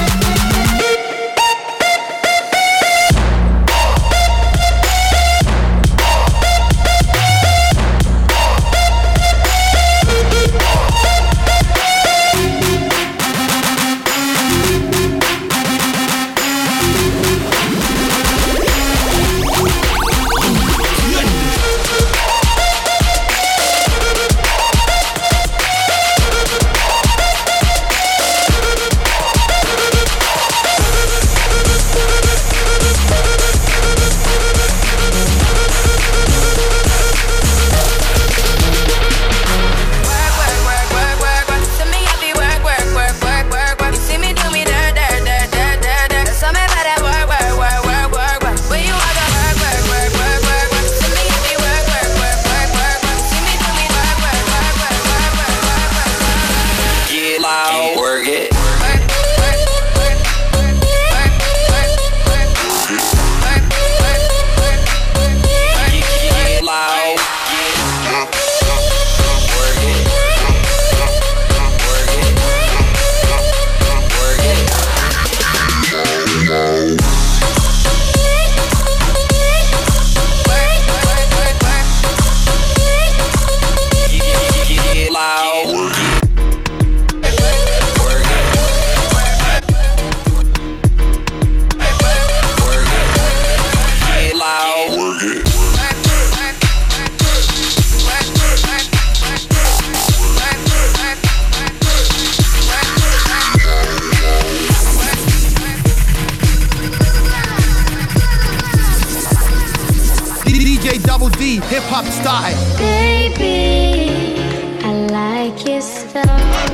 Hip hop style. Baby, I like your style.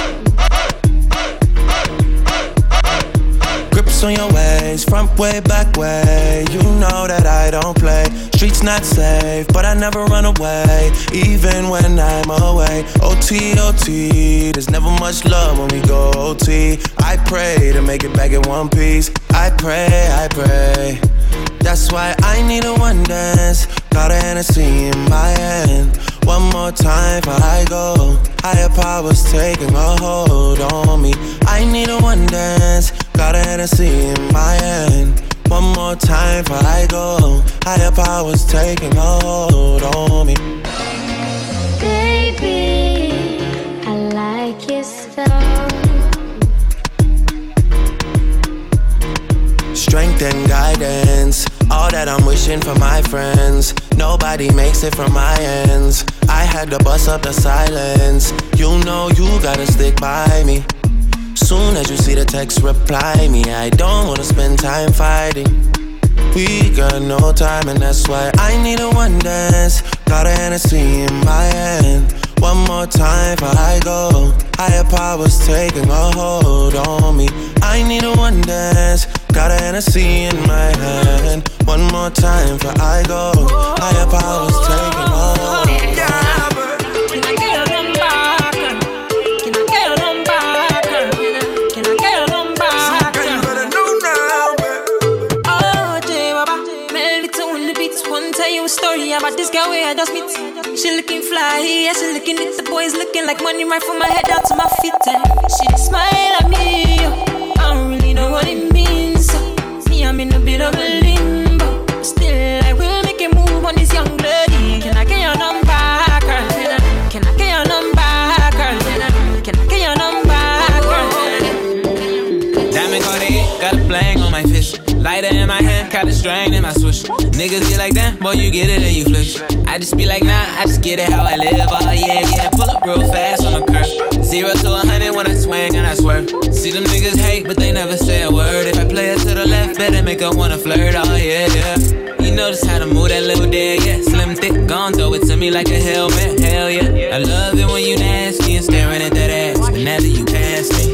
Grips on your ways, front way, back way. You know that I don't play. Streets not safe, but I never run away, even when I'm away. OT, OT, there's never much love when we go OT. I pray to make it back in one piece. I pray, I pray. That's why I need a one dance. Got a Hennessy in my hand. One more time before I go. Higher powers taking a hold on me. I need a one dance. Got a Hennessy in my hand. One more time before I go. Higher powers taking a hold on me. Baby, I like your style. Strength and guidance, all that I'm wishing for my friends. Nobody makes it from my ends. I had to bust up the silence. You know you gotta stick by me. Soon as you see the text, reply me. I don't wanna spend time fighting. We got no time and that's why I need a one dance. Got a Hennessy in my hand. One more time before I go. Higher powers taking a hold on me. I need a one dance. Got a Hennessy in my hand. One more time before I go. Higher powers taking a hold on me. Story about this girl where I just meet. She looking fly, yeah, she looking at the boys looking like money right from my head down to my feet. And she smile at me, I don't really know what it means. Me, I'm in a bit of a limbo. Still, I will make a move on this young lady. Can I get your number, girl? Can I get your number, girl? Can I get your number, girl? Diamond Cartier, got a bling on my fist. Lighter in my hand, got a strain in my switch. Niggas get like that, boy, you get it and you flish. I just be like, nah, I just get it how I live. Oh yeah, yeah, pull up real fast on the curve. 0 to 100 when I swing and I swerve. See them niggas hate, but they never say a word. If I play it to the left, better make her wanna flirt. Oh yeah, yeah. You notice how to move that little dead, yeah. Slim, thick, gon' throw it to me like a helmet, hell yeah. I love it when you nasty and staring at that ass, but now that you pass me,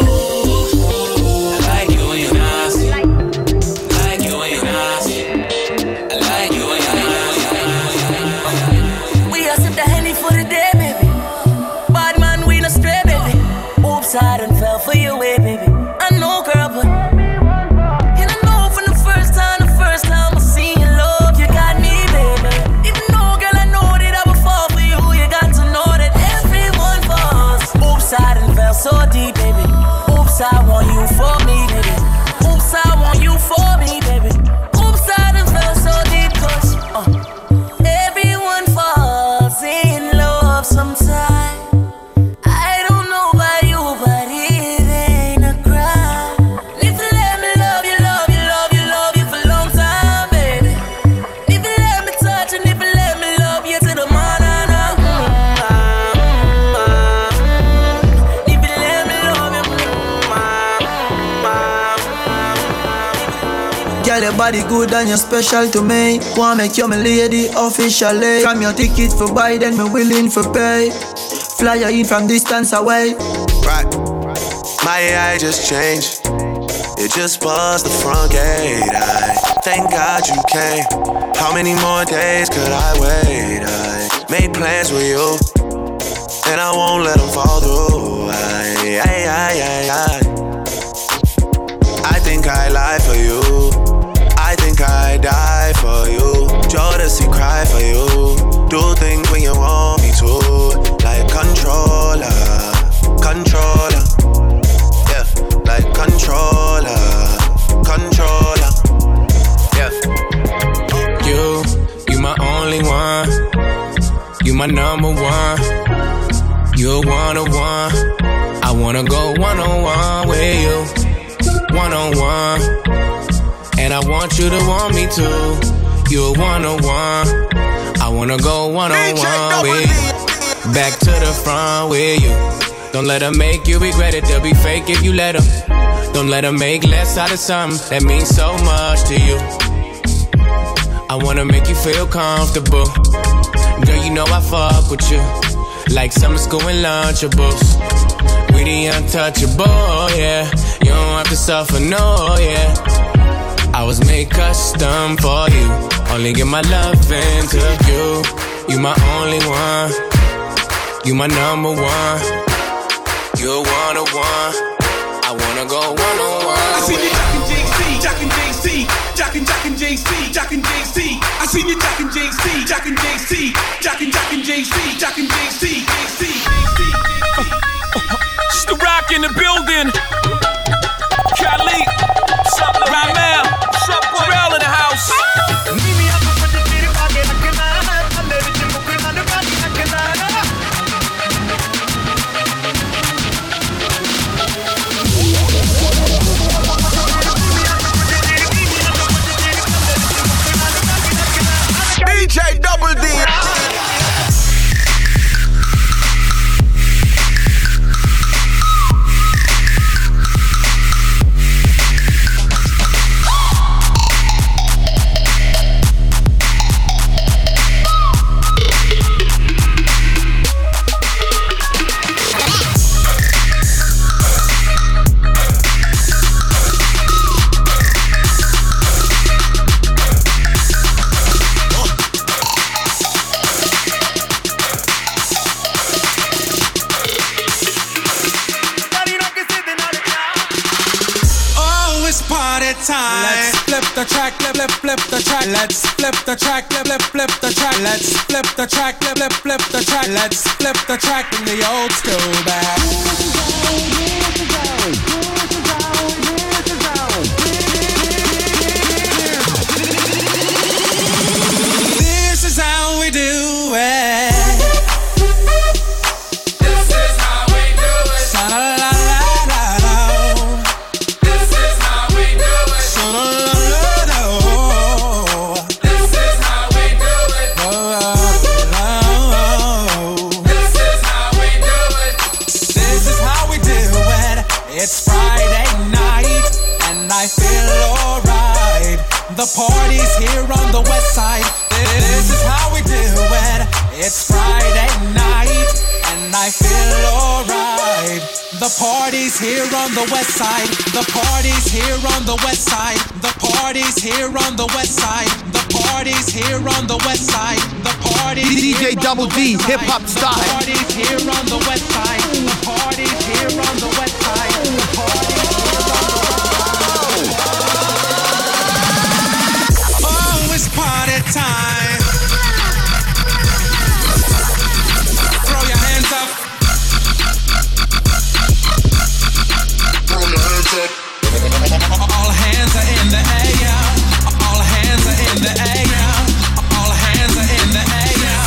I like you when you're nasty. I like you when you're nasty. I like you when you're nasty. We are sip the Henny for the day, baby. Bad man, we no stray, baby. Oops, I done fell for your way, baby. I know, girl, but and I know from the first time I seen your love, you got me, baby. Even though, girl, I know that I would fall for you, you got to know that everyone falls. Oops, I done fell so deep, baby. Oops, I want you for me, baby. Oops, I want you for me, baby. Oops, I done fell so deep, cause everyone falls in love sometime. I don't know about you, but it ain't a crime. If you let me love you, love you, love you, love you for a long time, baby. If you let me touch and if you let me love you to the morning, if you let me love you, Girl, your body good and you're special to me. Wanna make you my lady officially. From your ticket for buy, then me willing for pay. Fly you in from distance away. Right. My AI just changed. It just buzzed the front gate. I thank God you came. How many more days could I wait? I made plans with you, and I won't let them fall through. I think I lie for you. I think I die for you. Jodeci cry for you. Do things when you want me to. Like controller. Yeah, like controller. Yeah. You my only one. You my number one. You're one-on-one. I wanna go one-on-one with you. One-on-one. And I want you to want me too. You're one-on-one. I wanna go one-on-one with you. Back to the front with you. Don't let them make you regret it. They'll be fake if you let them. Don't let them make less out of something that means so much to you. I wanna make you feel comfortable. Girl, you know I fuck with you like summer school and Lunchables. We the untouchable, yeah. You don't have to suffer, no, yeah. I was made custom for you. Only give my love into you. You my only one. You my number one. You're one-on-one. I wanna go one-on-one. I seen you jockin' JC, jockin' JC, jockin' JC. I seen you jockin' JC, jockin' JC, jockin' JC, jockin' JC. It's the Rock in the building. Khalid, Ramel, Terrell in the house. DJ Double D. Let's flip the track, flip the track. Let's flip the track, flip the track. Let's flip the track, flip the track. Let's flip the track in the old school back. This is how we do it. This is how we do it. This is how we do it. This is how we do it. This is how we do it. It's Friday. The party's here on the west side. The party's here on the west side. The party's here on the west side. The party's here on the west side. The party's DJ Double D, hip hop style. The party's here on the west side. The party's here on the west side. The party's here on the west side. Oh, it's party time. Throw your hands up. Throw your hands up. All hands are in the air. All hands are in the air. All hands are in the air.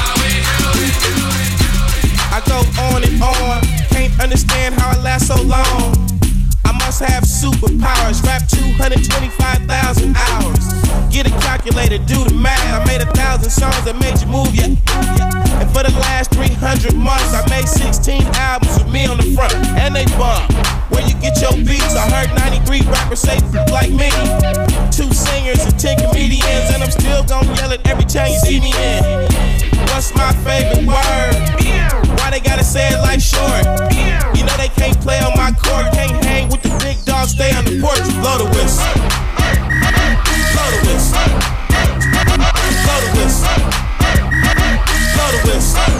I go on and on, can't understand how I last so long. I must have superpowers, rap 225,000 hours. Get a calculator, do the math. I made 1,000 songs that made you move, yeah. And for the last 300 months, I made 16 albums with me on the front, and they bump. Where you get your beats? I heard 93 rappers say like me. 2 singers and 10 comedians, and I'm still gonna yell it every time you see me in. What's my favorite word? Why they gotta say it like short? You know they can't play on my court, can't hang with the big dogs, stay on the porch. Blow the whistle. Blow the whistle. Blow the whistle. Blow the whistle.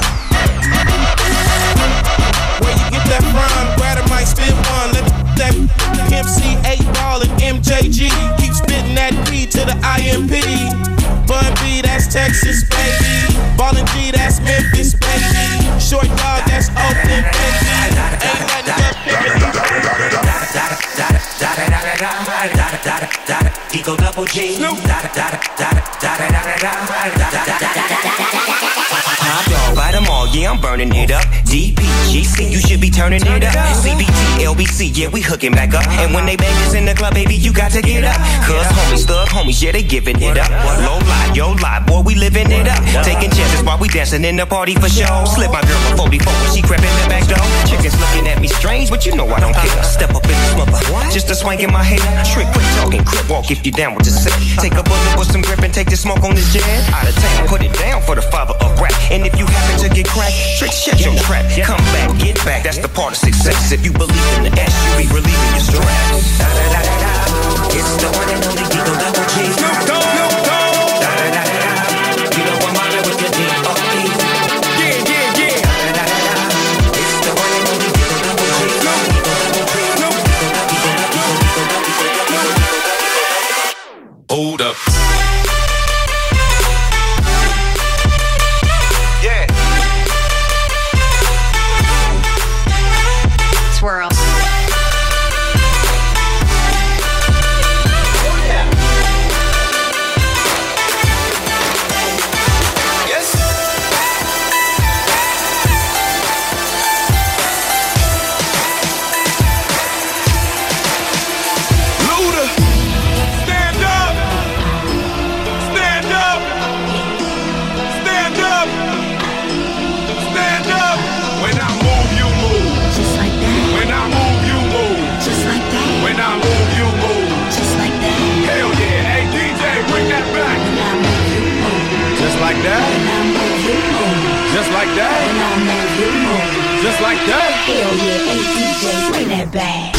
Where you get that from? Grab a mic, spit one. Let that Pimp C, 8-Ball, and MJG keep spitting that P to the IMP. Bun B, that's Texas, baby. Ballin' G, that's Memphis, baby. Short dog, that's Oakland, baby. Ain't nothing but Eagle Double G. Top dog, buy them all, yeah, I'm burning it up. DPGC, you should be turning it up. CBT, LBC, yeah, we hooking back up. And when they bang us in the club, baby, you got to get up. Cause homies, thug homies, yeah, they giving it up. Low lie, yo lie, boy, we living it up. Taking chances while we dancing in the party for show. Slip my girl a 44 when she crept in the back door. Chickens looking at me strange, but you know I don't care. Step up in the smother, just a swank in my hair. Trick, quick talking, crip walk if you down with the set. Take a bullet with some grip and take the smoke on this jet. Out of town, put it down for the father of rap. And if you happen to get cracked, trick, shut your trap. Come back, get back, that's the part of success. If you believe in the S, you be relieving your stress. It's the one and only Eagle Double G. Snoop Dogg. You know I'm on it with the D.O.E. Yeah. It's the one and only Eagle Double G. Hold up. Swirl. Just like that. Just like that. Hell yeah, hey DJ, bring that back.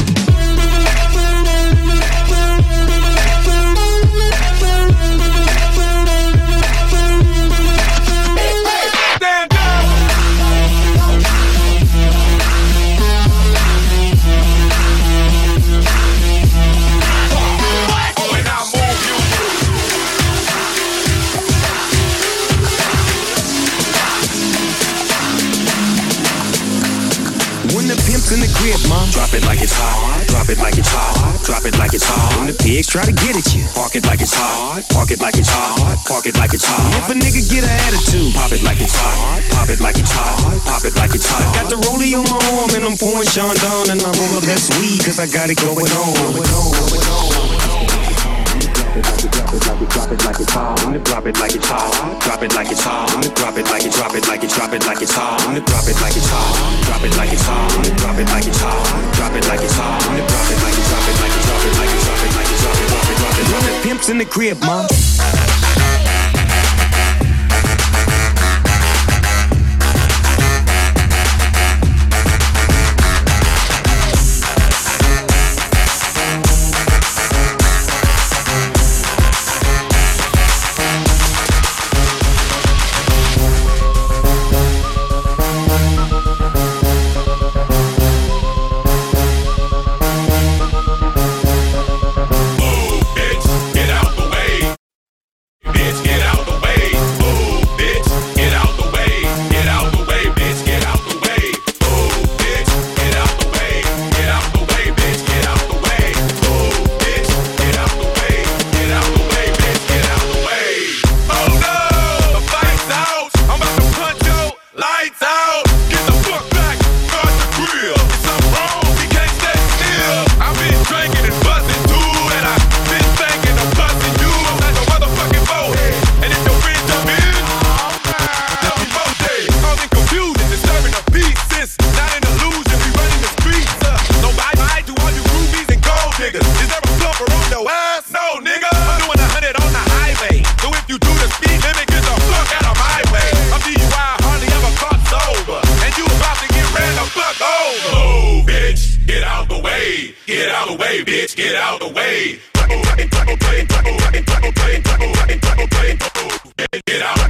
In the crib, mom. Drop it like it's hot. Drop it like it's hot. Drop it like it's hot. When the pigs try to get at you, park it like it's hot. Park it like it's hot. Park it like it's hot. If a nigga get an attitude, pop it like it's hot. Pop it like it's hot. Pop it like it's hot. Got the rollie on my arm and I'm pouring Sean down and I'm roll up that weed cause I got it going on. Drop it like it's hot. Drop it like it's hot. Drop it like it's hot. Drop it like it's drop it like it's drop it like it's hot. Drop it like it's hot. Drop it like it's hot. Drop it like it's hot. Drop it like it's hot. Drop it like it's drop it like it's drop it like it's drop it like it's drop it drop it drop it drop it. Pimps in the crib, mom. way, bitch, get out the way. Get out.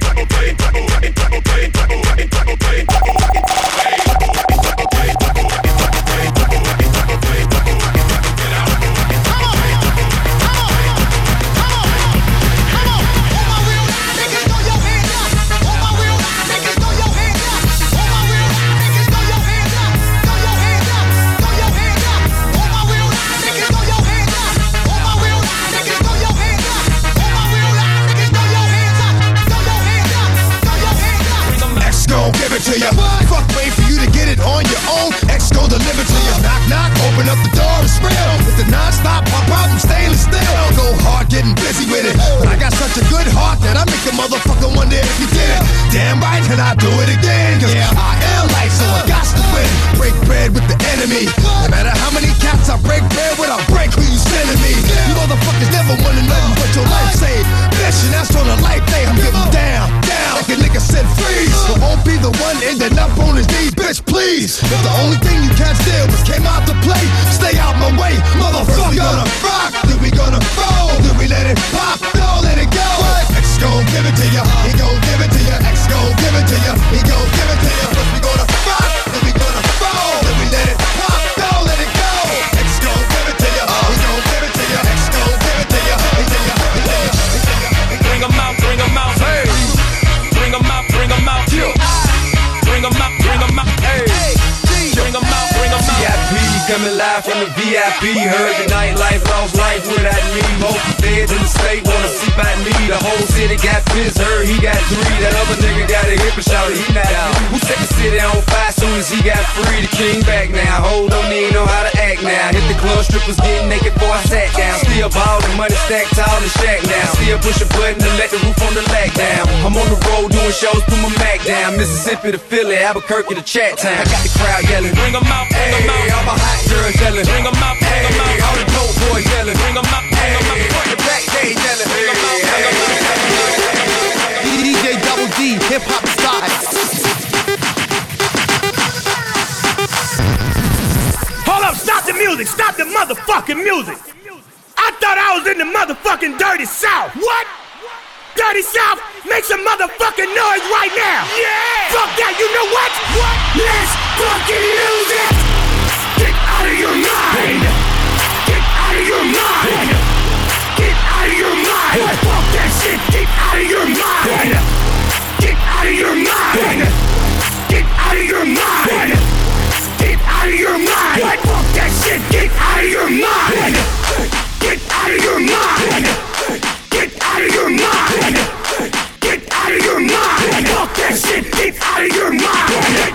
To you. Fuck, wait for you to get it on your own. X go deliver to you. Knock, knock, open up the door, it's real. With the non-stop pump out, I'm stainless steel. Go hard, getting busy with it. But I got such a good heart that I make a motherfucker wonder if you did it. Damn right, and I do it again. Cause I am life, so I got to win. Break bread with the enemy. No matter how many cats I break bread with, I'll break who you sending me. You motherfuckers never wanted nothing but your life saved. Bitch, and that's on a life day. I'm getting down, down. Like a nigga said freeze. So won't be the one ending up on his knees, bitch, please. If the only thing you can't steal was came out to play, stay out my way, motherfucker. We gonna rock, then we gonna roll, then we let it pop, don't let it go. X gon' give it to ya, he gon' give it to ya. X gon' give it to ya, he gon' give it to ya. First we gonna rock, then we gonna roll, then we let it pop, don't let it go. X gon' give it to ya, he gon' give it to ya. X gon' give it to ya, he to ya, he to ya, he to ya. Bring 'em out, hey. Bring 'em out, yeah. Bring 'em out, hey. Bring 'em out, VIP coming live from the VIP. Heard the nightlife, lost life without me. Most feds in the state wanna see by me. The whole city got pissed, heard he got 3. That other nigga got a hip and shouted he not out. Who set the city on fire soon as he got free? The king back now, hold don't even know how to act now. Hit the club, strippers getting naked before I sat down. Still ballin', money stacked tall and shack now. Still push a button to let the roof on the lag down. I'm on the road doing shows, put my Mac down. Mississippi to Philly, Albuquerque to Chat Town. I got the crowd yelling, bring 'em out, bring 'em out. All my hot girls yelling, bring 'em out, bring 'em out. All the dope boys yelling, bring 'em out, bring 'em out. Front the back, they yelling, bring 'em out, bring 'em out. DJ Double D, hip hop style. Hold up, stop the music, stop the motherfucking music. I thought I was in the motherfucking Dirty South. What? Dirty South, make some motherfucking noise right now. Yeah. Fuck that, you know what? What? Let's fucking lose it. Get out of your mind. Get out of your mind. Get out of your mind. Fuck that shit. Get out of your mind. Get out of your mind. Get out of your mind. Get out of your mind. Fuck that shit. Get out of your mind. Get out of your mind. Get out of your mind. Get out of your mind. Fuck that shit. Get out of your mind.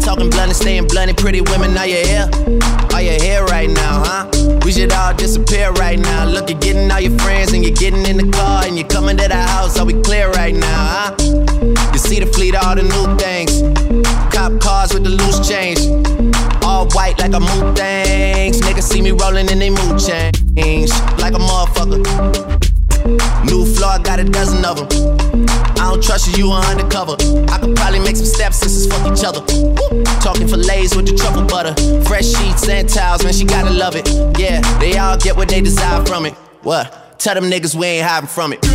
talking blunt and staying blunt. Pretty women, are you here? Are you here right now, huh? We should all disappear right now. Look, you're getting all your friends and you're getting in the car and you're coming to the house. Are we clear right now, huh? You see the fleet, all the new things. Cop cars with the loose change. All white like a mood things. Niggas see me rolling in they mood change. Like a motherfucker. New floor, I got a dozen of them. I don't trust you, you are undercover. I could probably make some stepsisters fuck each other. Woo. Talking fillets with the truffle butter. Fresh sheets and towels, man, she gotta love it. Yeah, they all get what they desire from it. What? Tell them niggas we ain't hiding from it.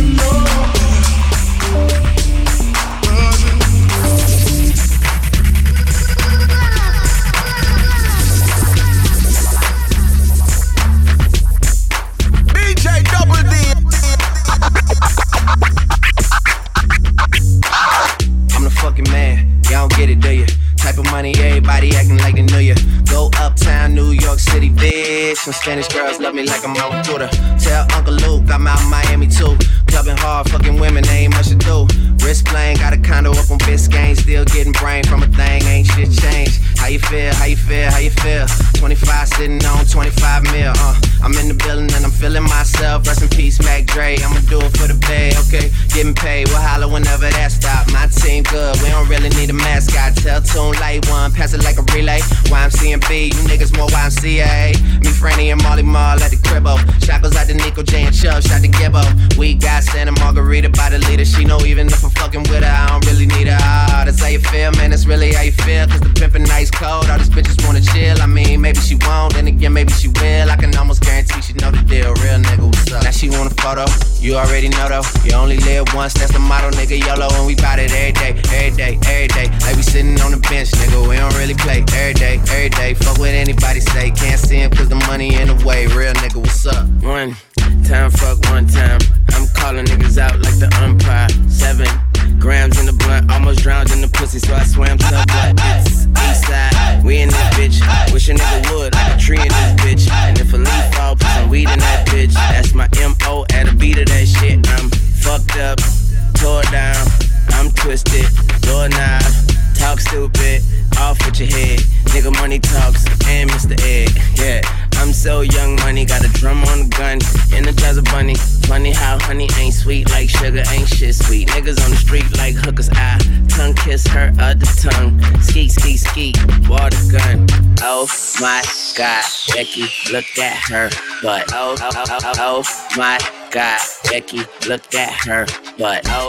Get it, do you? Type of money, everybody acting like they knew you. Go uptown, New York City, bitch. Some Spanish girls love me like I'm on Twitter. Tell Uncle Luke I'm out in Miami too. Clubbing hard, fucking women, ain't much to do. Wrist playing, got a condo up on Biscayne. Still getting brain from a thing, ain't shit changed. How you feel, how you feel, how you feel? 25 sitting on 25 mil, I'm in the building and I'm feeling myself. Rest in peace, Mac Dre, I'ma do it for the bay, okay? Getting paid, we'll holler whenever that stop. My team good, we don't really need a mascot. Tell Tune Light One, pass it like a relay. YMCMB, you niggas more YMCA. Me, Franny, and Molly Mall at the cribbo. Shackles out to Nico J and Chubb, shot to Gibbo. We got Santa Margarita by the leader. She know even if I'm fucking with her, I don't really need her. Ah, that's how you feel, man, that's really how you feel. Cause the pimpin' nice cold, all these bitches wanna chill. I mean, maybe she won't, then again, maybe she will. I can almost guarantee she know the deal. Real nigga, what's up? Now she want a photo, you already know though. You only live once, that's the motto, nigga, YOLO. And we bout it every day, every day, every day. Like we sitting on the bench, nigga, we don't really play. Every day, every day, fuck what anybody say. Can't see him cause the money in the way. Real nigga, what's up? One time, fuck one time. I'm calling niggas out like the umpire. 7 grams in the blunt, almost drowned in the pussy, so I swam to blood. It's Eastside, we in this bitch. Wish a nigga would, like a tree in this bitch. And if a leaf fall, put some weed in that bitch. That's my M.O. at a beat of that shit. I'm fucked up, tore down, I'm twisted, doorknob, talk stupid, off with your head. Nigga money talks, and Mr. Ed, yeah. I'm so young money, got a drum on the gun, Energizer bunny. Funny how honey ain't sweet like sugar, ain't shit sweet. Niggas on the street like hookers, I tongue kiss her other tongue. Skeet, skeet, skeet, water gun. Oh my God, Becky, look at her butt. Oh my God, Becky, look at her butt. Oh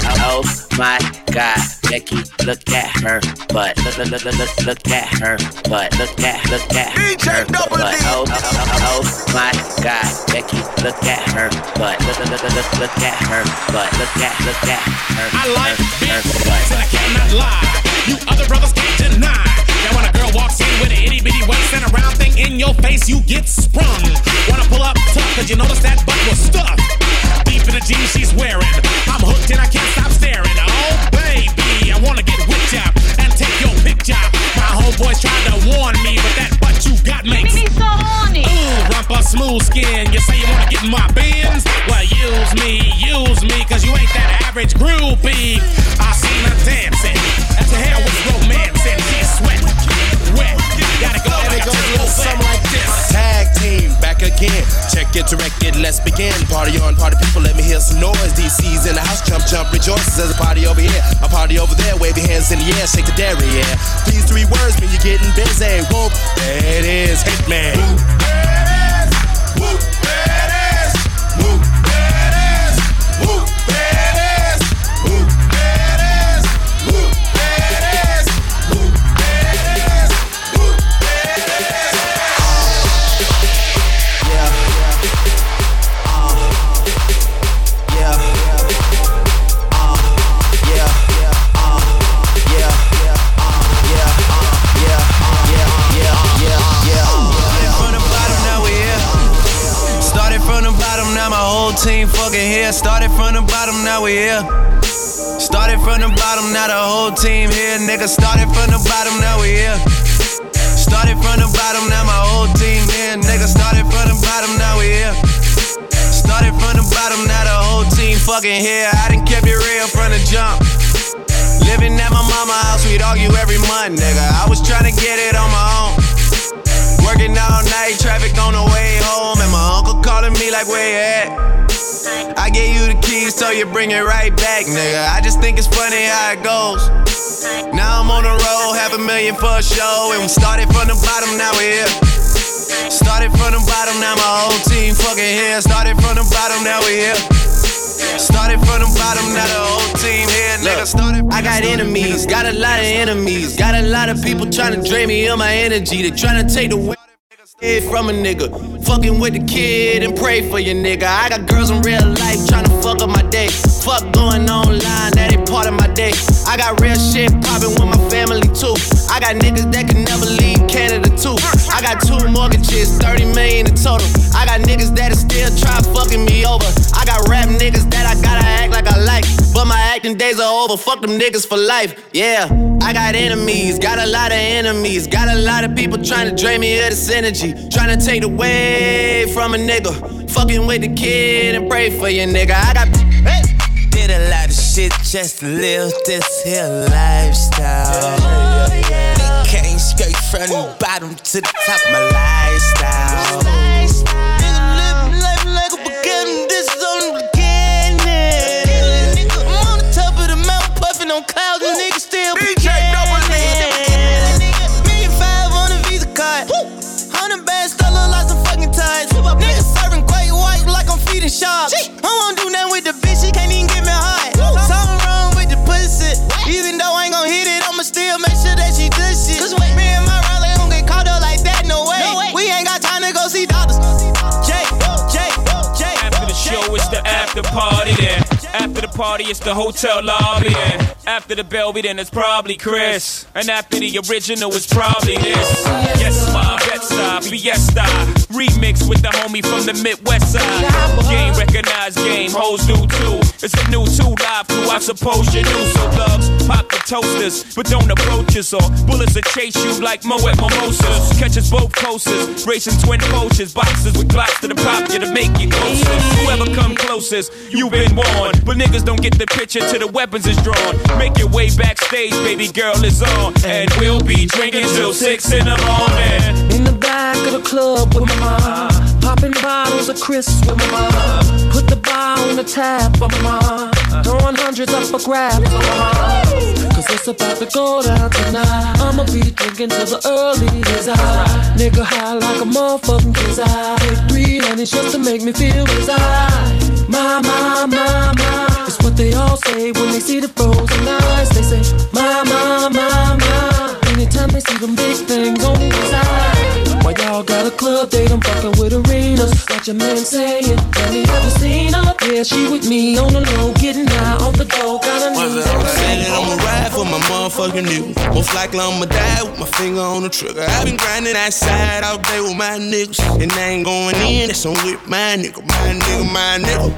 my God, Becky, look at her butt. Look at her butt. Look at her butt. Oh my God, Becky, look at her butt. Look at her butt. Look at her. I like big butts and I cannot lie. You other brothers can't deny. Now when a girl walks in with an itty bitty waist and a round thing in your face, you get sprung. Wanna pull up tough cause you notice that butt was stuffed deep in the jeans she's wearing. I'm hooked and I can't stop staring. Oh baby, I wanna get whipped up and take your picture. My homeboys tried to warn me, but that butt you got makes me so horny. Ooh, rumpa smooth skin. You say you wanna get in my bins? Well, use me, cause you ain't that average groupie. I seen her dancing, and to hell with romance, and she's sweat, wet. Gotta go, and it goes a little something like this. Tag team, back again. Check it, direct it, let's begin. Party on, party people, let me hear some noise. DC's in the house, jump, jump, rejoices. There's a party over here, a party over there. Wave your hands in the air, shake the dairy, yeah. These 3 words mean you're getting busy. Whoop, there it is, Hitman. Whoop, that ass. Whoop, that ass. Whoop, that ass. Whoop, that ass. Whoop, that ass. Whoop, that ass. Whoop, that ass. Team fucking here. Started from the bottom, now we here. Started from the bottom, now the whole team here. Nigga, started from the bottom, now we here. Started from the bottom, now my whole team here. Nigga, started from the bottom, now we here. Started from the bottom, now the whole team fucking here. I done kept it real from the jump. Living Living at my mama's house, we'd argue every month, nigga. I was tryna get it on my own. Working all night, traffic on the way home, and my uncle calling me like, where you at? I gave you the keys, so you bring it right back, nigga. I just think it's funny how it goes. Now I'm on the road, $500,000 for a show, and we started from the bottom, now we're here. Started from the bottom, now my whole team fucking here. Started from the bottom, now we here. Started from the bottom, now the whole team here. Nigga, started. I got enemies, got a lot of enemies. Got a lot of people trying to drain me of my energy. They trying to take the weight from a nigga. Fucking with the kid and pray for your nigga. I got girls in real life trying to fuck up my day. Fuck going online, that ain't part of my day. I got real shit poppin' with my family too. I got niggas that can never leave Canada too. I got 2 mortgages, 30 million in total. I got niggas that still try fucking me over. I got rap niggas that I gotta act like I like, but my acting days are over. Fuck them niggas for life, yeah. I got enemies, got a lot of enemies. Got a lot of people trying to drain me of this energy. Trying to take away from a nigga. Fucking with the kid and pray for your nigga. I got did a lot of shit just to live this here lifestyle. Came straight from the bottom to the top of my lifestyle. Nigga living life like a beginning. This is only the beginning. Nigga, I'm on the top of the mountain puffing on clouds and niggas still DJ Double D. $1,500,000 on a Visa card. 100 bands still look like some fucking ties. Niggas serving great white like I'm feeding sharks. I won't do nothing with the bitch, she can't even get me high. Something wrong with the pussy. Even though I ain't gon' hit it, I'ma still make sure that she does shit. Cause wait, me and my Riley don't get caught up like that, no way. We ain't got time to go see doctors. After the show, it's the after party then. After the party, it's the hotel lobby then. After the Belby, then it's probably Chris. And after the original, it's probably this. Yes, my Bed-Stuy, Fiesta. Remix with the homie from the Midwest side. Game recognized, game hoes do too. It's a new 2 live crew, I suppose you knew. So thugs, pop the toasters, but don't approach us. Or bullets will chase you like Moet Mimosas. Catch us both coasters, racing twin poachers. Boxers with glocks to the pop you to make you closer. Whoever come closest, you been warned. But niggas don't get the picture till the weapons is drawn. Make your way backstage, baby girl is on. And we'll be drinking till 6 in the morning. In the back of the club with my mom, popping bottles of crisps with my mom. Put the bar on the tab for my mom, throwing hundreds up for grabs for my mom. Cause it's about to go down tonight. I'ma be drinking till the early days. Nigga high like a motherfucking kiss. I take 3 honeys just to make me feel desire. My, it's what they all say when they see the frozen eyes. They say, my. Anytime they see them big things on the inside. Why y'all got a club date? I'm fucking with arenas. Got your man saying, have you ever seen her? Yeah, she with me on the low, getting high off the dough. Got a new I'ma ride for my motherfucking niggas. Most likely I'ma die with my finger on the trigger. I been grinding outside all day with my niggas, and I ain't going in, that's on with my nigga. My nigga, my nigga.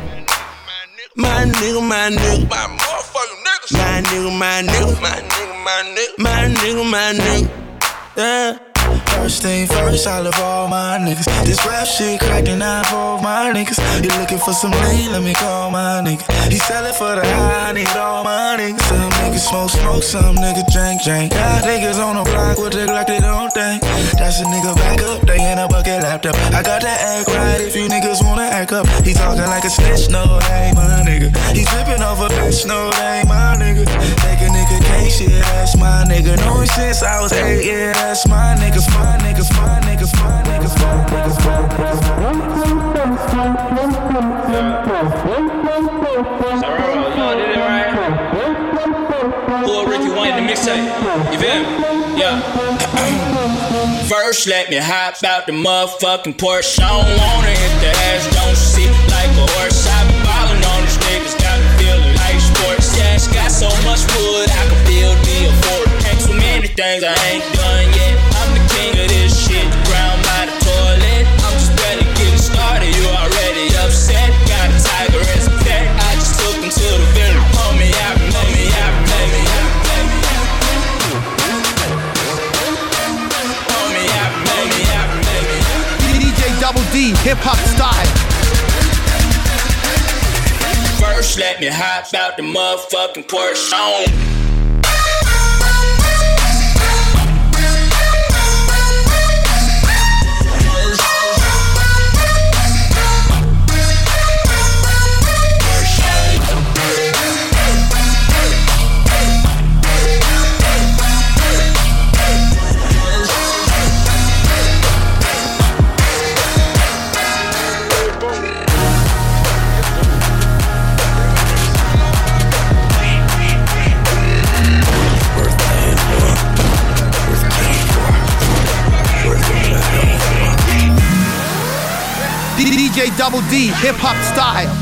My nigga, my nigga. My motherfucking niggas. My nigga, my nigga. My nigga, my nigga. My nigga, my nigga. Yeah. First thing first, I love all my niggas. This rap shit cracking out for all my niggas. You looking for some lean, let me call my nigga. He sellin' for the high, I need all my niggas. Some niggas smoke, some niggas drink. Got niggas on the block with the Glock, they don't think. That's a nigga back up, they in a bucket laptop. I got that act right if you niggas wanna act up. He talking like a snitch, no, that ain't my nigga. He trippin' off a bitch, no, that ain't my nigga. Take a nigga case, yeah, that's my nigga. Know him since I was 8, yeah, that's my nigga. My niggas, my niggas, my niggas, my niggas, my niggas. Y'all did it right. Pull Ricky Wayne the mixtape. You feel me? Yeah. First, let me hop out the motherfucking Porsche. I don't wanna hit the ass, don't sit like a horse. I been ballin' on these niggas, got me feeling like sports. Yeah, it's got so much wood, I can build me a fort. Ain't so many things I ain't done yet. I'm the king of this shit, ground by the toilet. I'm just barely getting started, you already upset. Got a tiger as a pet, I just took him to the very. Pull me out, pull me out, pull me out, pull me out. Pull me out, pull me out, pull me out. DJ Double D, hip hop style. First, let me hop out the motherfucking Porsche. DJ Double D, hip hop style.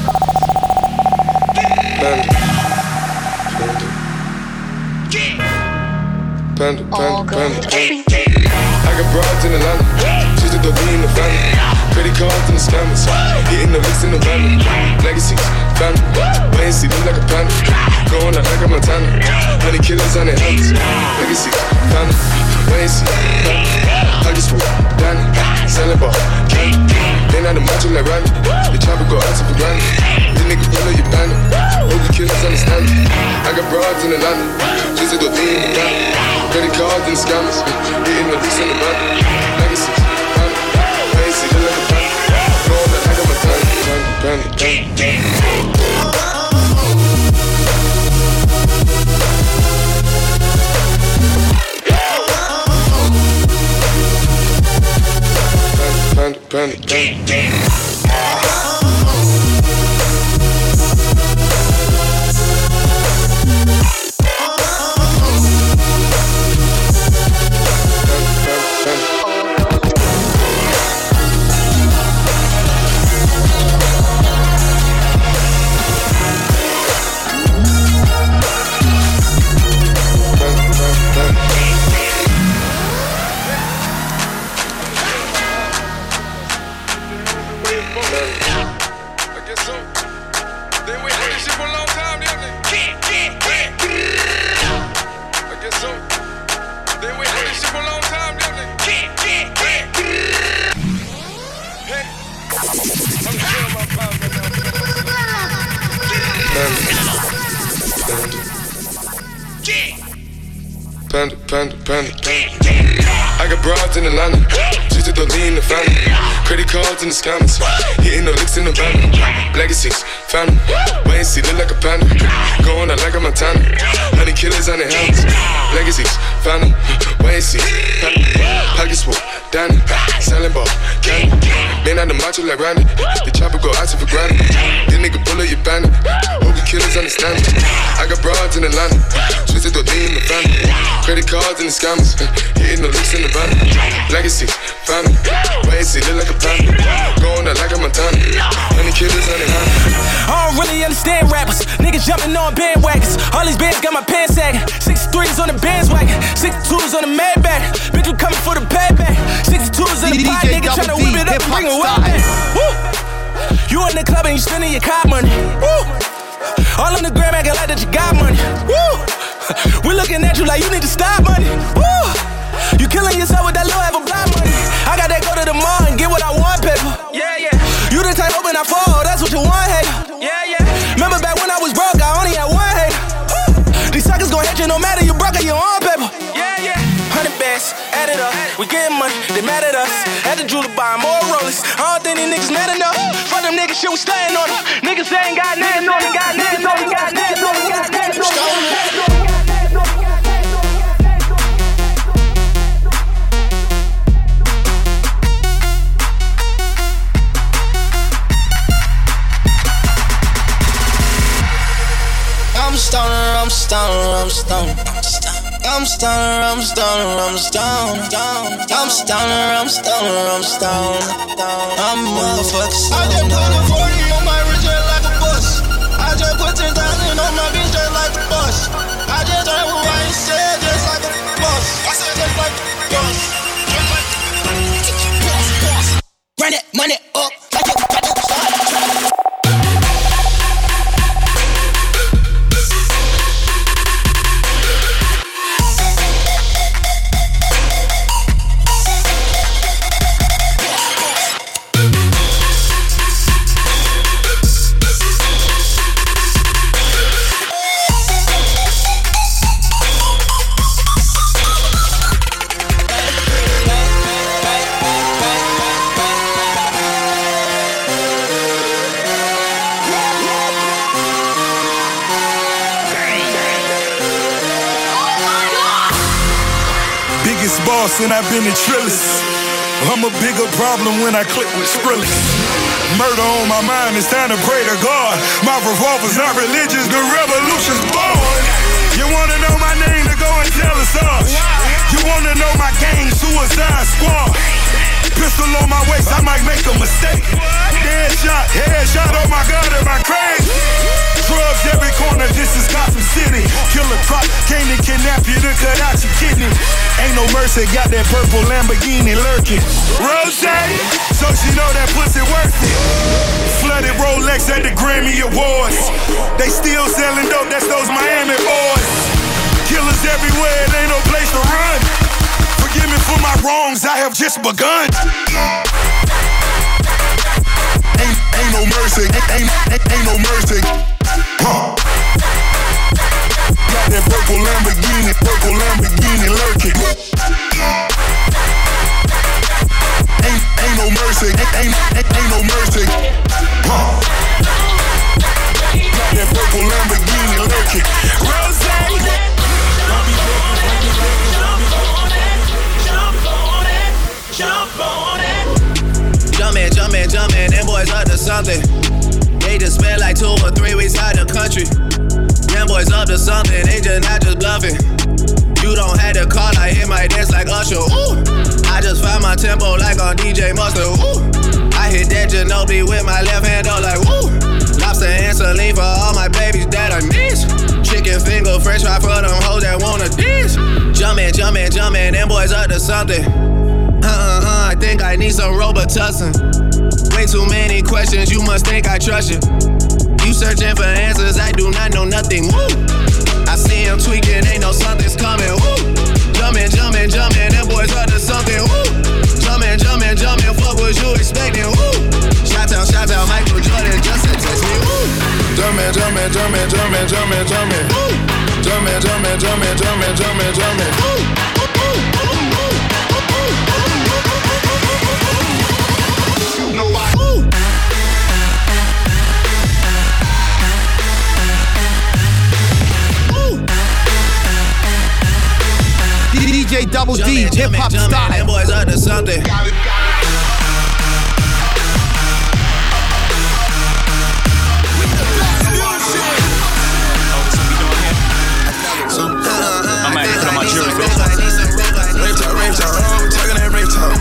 Panda. I got broads in Atlanta. She's a dope in the family. Credit cards and the scammers. Hitting the licks in the van. Legacies, family. Wayne see look like a panda. Going out like a Montana. Honey killers on their hands. Legacies, family. Wayne see, family. I just swoop, Danny. Selling ball, candy. They not the macho like Randy. The chopper go out to for granted. This nigga pull up your bandit. Hope the killers understand it. I got broads in Atlanta. She's a dope in the family. Credit cards and scammers, hitting the lease in the van. Legacies, family, Wayne see look like a panda. Going out like a Montana. Panda. I got broads in Atlanta. She's a dope in the family. Credit cards and the scammers. Hitting the licks in the van. Legacies, family. Wayne see look like a panda. Going out like a Montana. Honey killers on their hands. Legacies, family. Wayne see, family. Pocket swoop, Danny. Selling ball, candy. Man out the macho like Randy. The chopper go out to for granted. This nigga pull up your bandit. Hope the killers understand it. I got broads in Atlanta. She's a dope in the family. Credit cards and the scammers. Hitting the licks in the van. Legacies, family. Wayne see look like a panda. Going out like a Montana. Honey killers on their hands. I don't really understand rappers. Niggas jumping on bandwagons. All these bands got my pants sagging. 63s on the bandwagon. 62s on the Maybach. Bitch, we coming for the payback. 62s on the pot. Nigga tryna whip it up and bring it back. Woo! You in the club and you spending your car money. Woo! All on the gram acting like that you got money. Woo! We looking at you like you need to stop money. Woo! You killing yourself with that low ever blind money. I got that go to the mall and get what I want, paper. Yeah. You the type open I fall, that's what you want, hater. Yeah. Remember back when I was broke, I only had one hater. These suckers gon' hit you no matter you broke or you on paper. Yeah. 100 bands, add it up. We getting money, they mad at us. Had the jeweler buy more rollers. I don't think these niggas mad enough. Fuck them niggas, shit, we staying on them. Niggas ain't got nothing on them. I'm stoned. I'm stoned. I'm motherfucking stoned. I just put a 40 on my wrist just like a bus. I just put 10,000 on my bitch just like a bus. I just heard what I said just like a bus. I said just like a bus. Run that money up like you got to start. boss and I've been in Trillis. I'm a bigger problem when I click with Skrillex. Murder on my mind, it's time to pray to God. My revolver's not religious, the revolution's born. You wanna know my name, to go and tell us all. You wanna know my gang, Suicide Squad. Pistol on my waist, I might make a mistake. Headshot, headshot, oh my God, am I crazy? Drugs every corner, this is Gotham City. Killer Croc came to kidnap you to cut out your kidney. Ain't no mercy, got that purple Lamborghini lurking. Rose, so she know that pussy worth it. Flooded Rolex at the Grammy Awards. They still selling dope, that's those Miami boys. Killers everywhere, it ain't no place to run. Forgive me for my wrongs, I have just begun. Ain't no mercy, ain't no mercy. Huh. Got that purple Lamborghini lurking. Ain't no mercy, ain't no mercy. Huh. Got that purple Lamborghini lurking. Rose. Jump on it. Jumpin', them boys up to something. They just spent like 2 or 3 weeks out the country. Them boys up to something, they just not just bluffing. You don't have to call, I hit my dance like Usher. Ooh. I just found my tempo like on DJ Mustard. Ooh. I hit that Ginobili with my left hand, though, like woo. Lobster and saline for all my babies that I miss. Chicken finger, french fry for them hoes that wanna dish. Jumpin', them boys up to something. I think I need some Robitussin. Way too many questions, you must think I trust you. You searching for answers, I do not know nothing. Woo. I see him tweaking, ain't no something's coming. Woo. Jumpin', them boys up to something. Woo. Jumpin', fuck what you expecting. Woo. Shout out, Michael Jordan, just to text me. Woo. Jumpin'. Woo. Jumpin'. DJ Double D, hip hop style. Them boys up to something. I'm at put on my jury. Rave talk, talking that rave talk.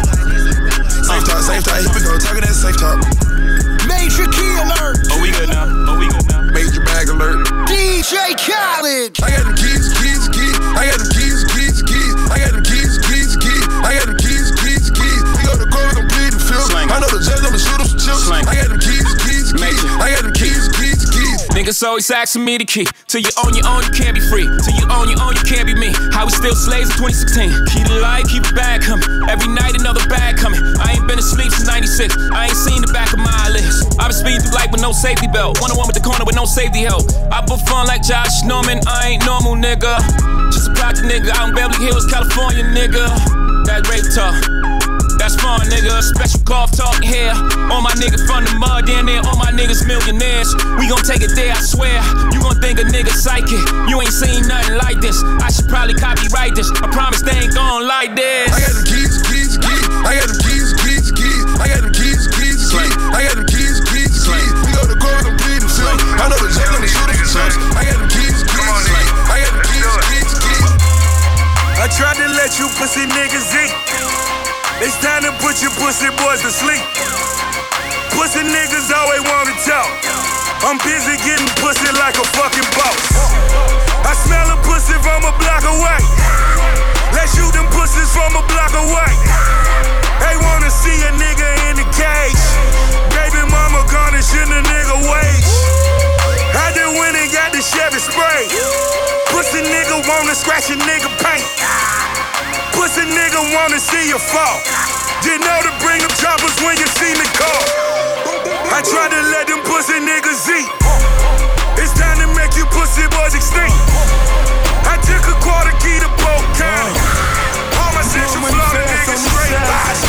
Safe talk, here we go, talking that safe talk. Major key alert. Oh, we good now. Major bag alert. DJ Khaled. I got them keys. I got them keys. I got them keys. I got them keys. We go to court, we gon' plead the fifth. I know the judge, I'ma shoot him some chips. I got them keys. I got them keys. Niggas always asking me the key. Till you own your own, you can't be free. Till you own your own, you can't be me. How we still slaves in 2016. Keep the light, keep the bag coming. Every night another bag coming. I ain't been asleep since 96. I ain't seen the back of my eyelids. I been speeding through life with no safety belt. 1-on-1 with the corner with no safety help. I put fun like Josh Norman. I ain't normal, nigga. Just a project nigga out in Beverly Hills, California, nigga. That rape talk. That's fun, nigga. Special golf talk here. All my niggas from the mud, down there. All my niggas millionaires. We gon' take it there, I swear. You gon' think a nigga psychic. You ain't seen nothing like this. I should probably copyright this. I promise they ain't gon' like this. I got them keys. I got them keys. I got them keys. I got them keys. We go to court, we gon' plead the fifth. I know the judge, I'ma shoot him some chips. I got them keys. I got them keys. I tried to let you pussy niggas eat. It's time to put your pussy boys to sleep. Pussy niggas always wanna talk. I'm busy getting pussy like a fucking boss. I smell a pussy from a block away. Let's shoot them pussies from a block away. They wanna see a nigga in the cage. Baby mama garnishing a nigga wage. I just went and got the Chevy spray. Pussy nigga wanna scratch a nigga paint. Pussy nigga wanna see you fall. You know to bring them choppers when you see me call. I tried to let them pussy niggas eat. It's time to make you pussy boys extinct. I took a quarter key to Polk County. All my Central Florida niggas straight.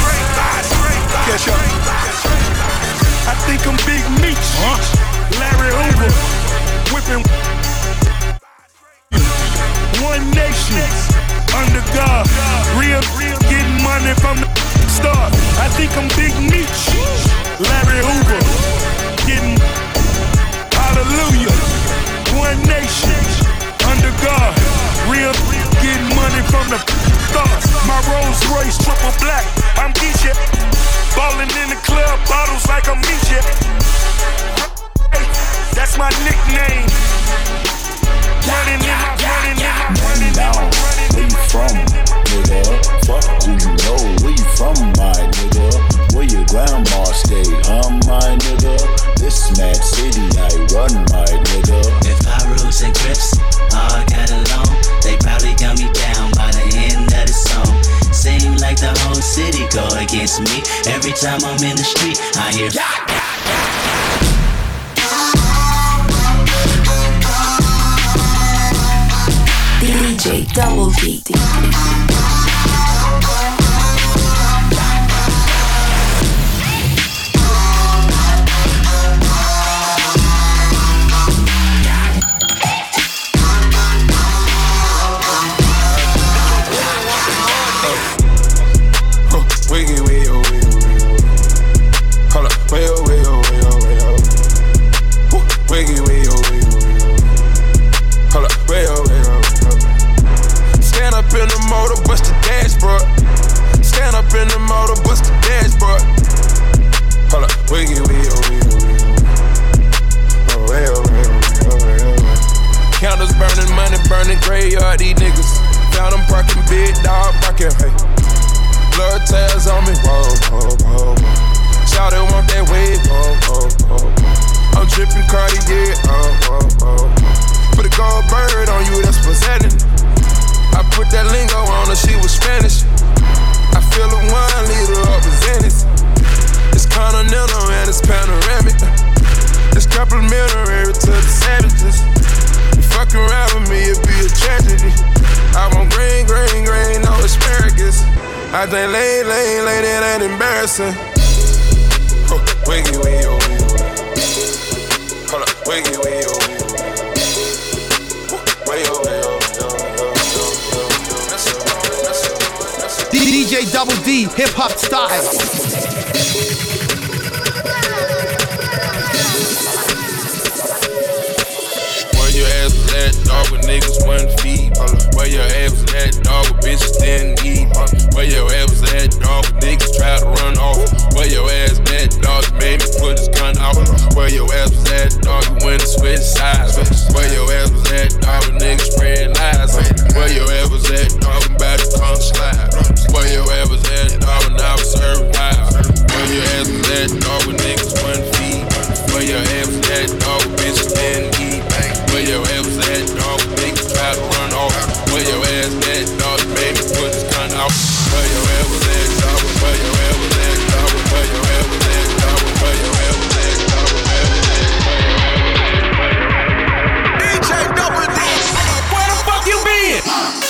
I think I'm Big Meech. Larry Hoover. Whipping. One nation. Under God, real getting money from the start. I think I'm Big Meech, Larry Hoover, getting hallelujah. One nation, under God, real getting money from the start. My Rolls Royce triple black, I'm Keisha. Ballin' in the club, bottles like I'm Misha. That's my nickname. Running in my, running in my, running down. Where you from, nigga? Fuck who you know. Where you from, my nigga? Where your grandma stay, my nigga? This mad city I run, my nigga. If I rules and grips all got along, they probably got me down by the end of the song. Seem like the whole city go against me. Every time I'm in the street, I hear DJ Double D. Wiggy, wiggy, hold up, way oh, way oh, way oh, way oh. Wiggy, wiggy, hold up, way oh, way oh. Stand up in the motor, bust the dashboard. Stand up in the motor, bust the dashboard. Hold up, wiggy, wiggy, way oh, way oh. Candles burning, money burning, graveyard, these niggas. Found them parking, big dog barking, hey. Blood tails on me, whoa, whoa, whoa, whoa. Shawty want that wave, whoa, whoa, whoa. I'm drippin' Cartier, whoa, whoa. Put a gold bird on you, that's presenting. I put that lingo on her, she was Spanish. I feel a 1 liter of Zenith. It's continental and it's panoramic. It's complimentary to the savages. You fuck around with me, it'd be a tragedy. I want green, green, green, no asparagus. I think lane, it ain't embarrassing. Wiggy, wiggy, oh, hold up, wiggy, wiggy, oh, way, oh, way, oh, DJ Double D, hip hop style. Where your ass was at, dog, with niggas wasn't feed. Where your ass was at, dog, with bitches didn't eat. Where your ass was at, dog, with niggas tried to run off. Where your ass at, dog, made me put his gun out. Where your ass was at, dog, you went and switched sides. Where your ass was at, dog, with niggas spread lies. Where your ass was at, dog, about to come slide. Where your ass was at, dog, when I was serving pies. Where your ass was at, dog, with niggas wasn't feed. Where your ass was at, dog, with bitches didn't eat. Where your ass was at, dog, niggas try to run off. Where your ass at, dog, made me put his gun out. Where your ass was at, dog, where your ass was at, dog, where your ass was at, dog, where your ass was at, dog, where your ass was at. DJ Double D, where the fuck you been?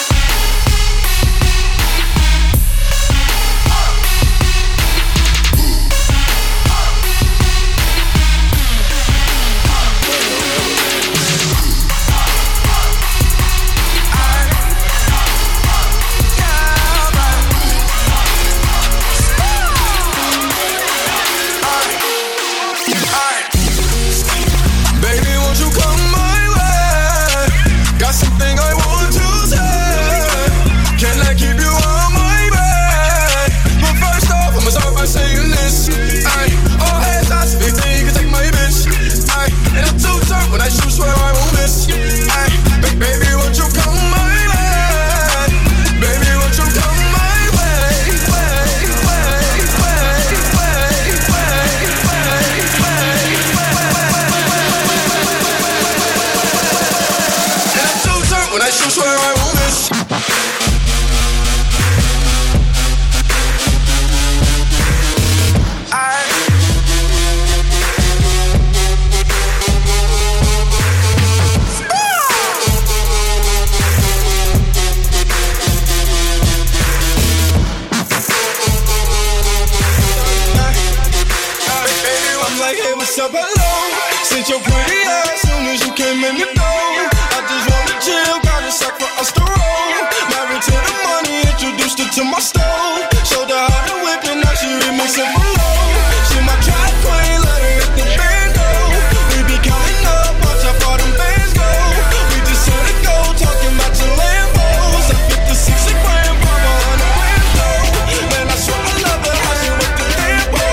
up alone. Sent your pretty ass soon as you came in the door. I just wanna chill, got a sack for us to roll. Married to the money, introduced her to my stove. Showed her how to whip and now she remixing for low. She my track queen, let her hit the band go. We be counting up, watch how far them bands go. We just saw the go, talking about your Lambos. I 56 a grand, 100 grand though. Man, I swear I love her, how she with the Lambo.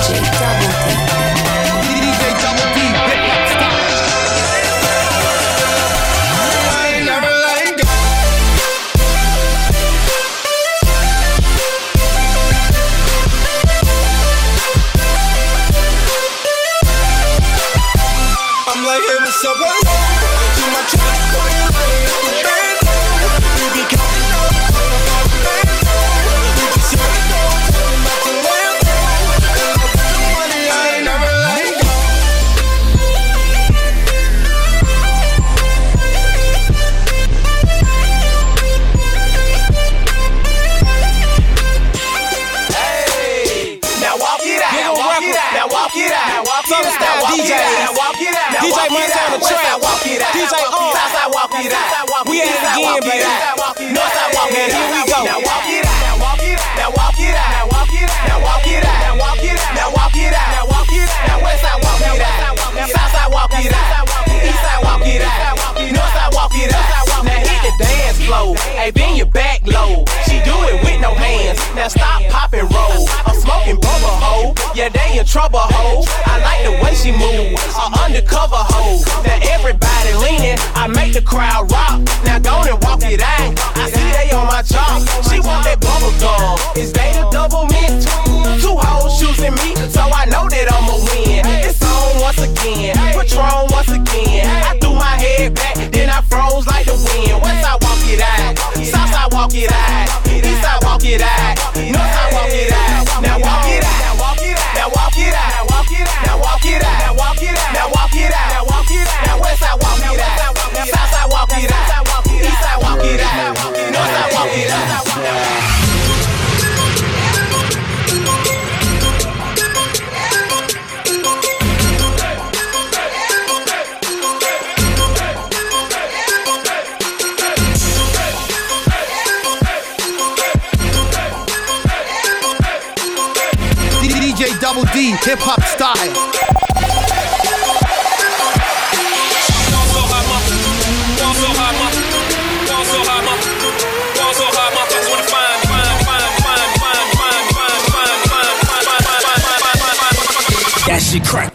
Hip hop style. That shit crack.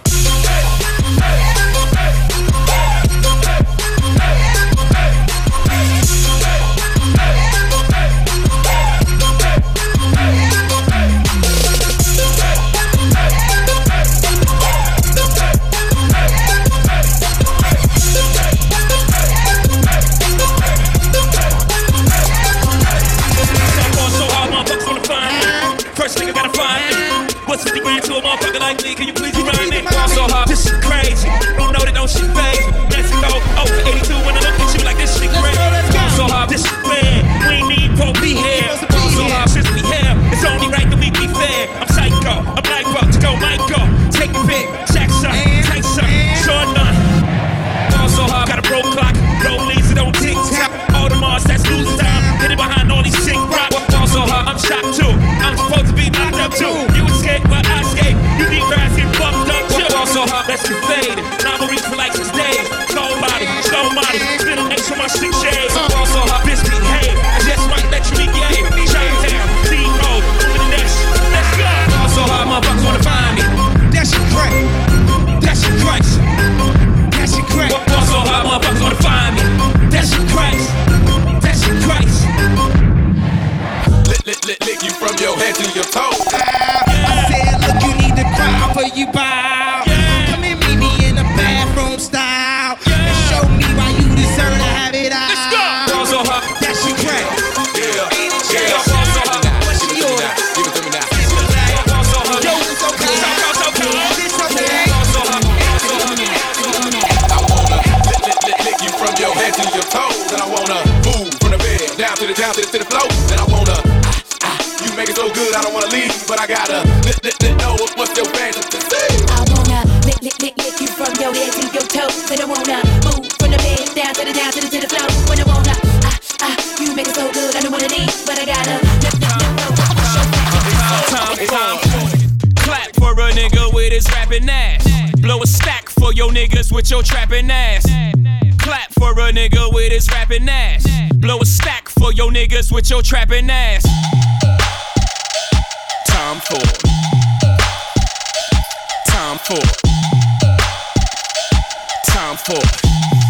Can you please remind me? So hard, this shit crazy. Don't know that don't shit phase. Mexico, over 82 when I look at you like this shit crazy. So hard, this shit bad. We ain't need to be here. So hard, since we here, it's only right that we be fair. I'm psycho, I'm like up to go, Michael. Take a pick, Jackson, Tyson, Sean Nunn. So hard, got a broke clock, rollies that don't tick tock. All the Mars that's losing time, hidden behind all these sick rock. So hard, I'm shocked too. I'm supposed to be locked up too. You escape, but I escape. You need fast get fucked up too. So hard, let's get faded. Now I'm reach for like 6 days. Cold body, slow body, spin an X on my 6 shades. So hard, bitch behave. I just might let you be gay. Chinatown, D-Road, over the next. Let's go. So hard, motherfuckers wanna find me. That shit crack. That shit cracks. That shit crack. So hard, motherfuckers wanna find me. That shit cracks. That shit cracks. Lick you from your head to your toe. I said, look, you need to cry for you bow. Come and meet me in the bathroom style. And show me why you deserve to have it out. Let's go. So hard. That shit crack. Yeah. What's yours? Give it to me now. Yo, it's okay. It's okay. I wanna lick you from your head to your toes. And I wanna move from the bed down to the floor. And I wanna you make it so good I don't wanna leave, but I gotta know what's your fantasy. I wanna lick you from your head to your toes. And I wanna move from the bed down to the floor. When I wanna you make it so good I don't wanna leave, but I gotta Time. Clap for a nigga with his rapping ass. Blow a stack for your niggas with your trapping ass. Clap for a nigga with his rapping ass. Blow a stack for your niggas with your trapping ass. Tom Ford. for it. Time for it.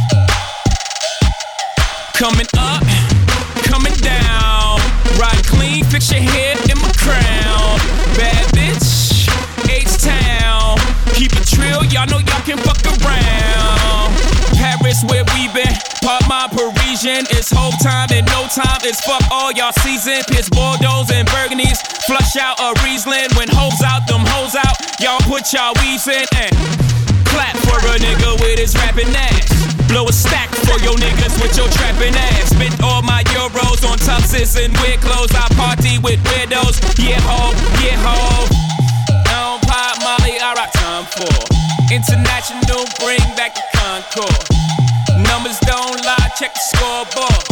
Coming up, coming down. Ride clean, fix your hair in my crown. Bad bitch, H-Town. Keep it trill, y'all know y'all can fuck around. Paris where we been, pop my Parisian. It's whole time and no time, it's fuck all y'all season. Piss Bordeaux and Burgundies, flush out a Riesling. When hoes out, them hoes out, y'all put y'all weaves in and clap for a nigga with his rapping ass. Blow a stack for your niggas with your trapping ass. Spent all my euros on tuxes and weird clothes. I party with weirdos, yeah ho, yeah ho. I don't pop Molly, I rock time for international, bring back the Concord. Numbers don't lie, check the scoreboard.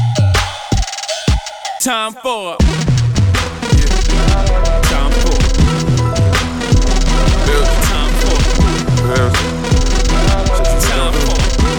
Time for time for time for time for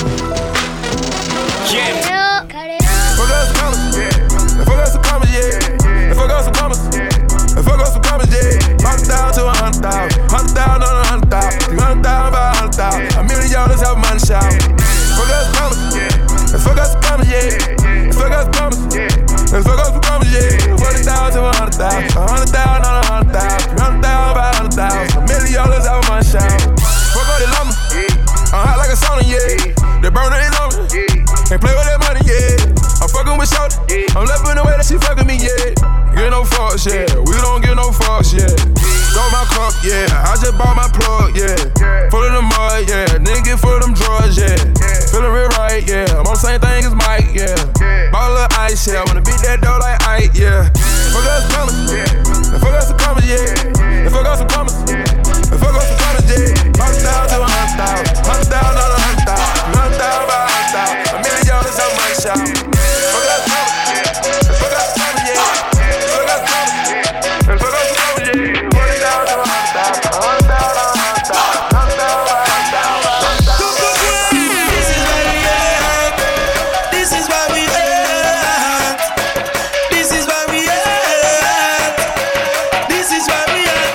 yeah. Fuck us some commas, yeah. Fuck us some commas, yeah. Fuck us some commas, yeah. Fuck us some commas, yeah. 100,000 to 100,000, 100,000 on 100,000, 300,000 by 100,000. $1 million have money shout. Fuck us some commas, yeah. Fuck us some commas, yeah. Fuck us some commas, yeah. Fuck us some commas, yeah. 40,000 to 100,000, 100,000 on 100,000, 300,000 by 100,000. $1 million have money shout. Fuck all the llama, I'm hot like a sauna, yeah. The burner is on me. Can't play with that money, yeah. I'm fucking with Shorty. I'm loving the way that she fucking me, yeah. Get no fucks, yeah. We don't get no fucks, yeah. Throw my cup, yeah. I just bought my plug, yeah. Full of the mud, yeah. Nigga full of them drugs, yeah. Feeling real right, yeah. I'm on the same thing as Mike, yeah. Ball of ice, yeah. Wanna beat that dough like Ike, yeah. Fuck us some commas, yeah. Fuck us some commas, yeah. Fuck us some commas, yeah. Fuck us some commas, yeah. 100,000 to 100,000, 100,000 on 100,000, 100,000 by 100,000. $1 million have money shout. Fuck us some commas, yeah. Fuck us some commas, yeah. Fuck us some commas, yeah. Fuck us some commas, yeah. 40,000 to 100,000, 100,000 on 100,000, 100,000 by 100,000. This is where we at. This is where we at. This is where we at.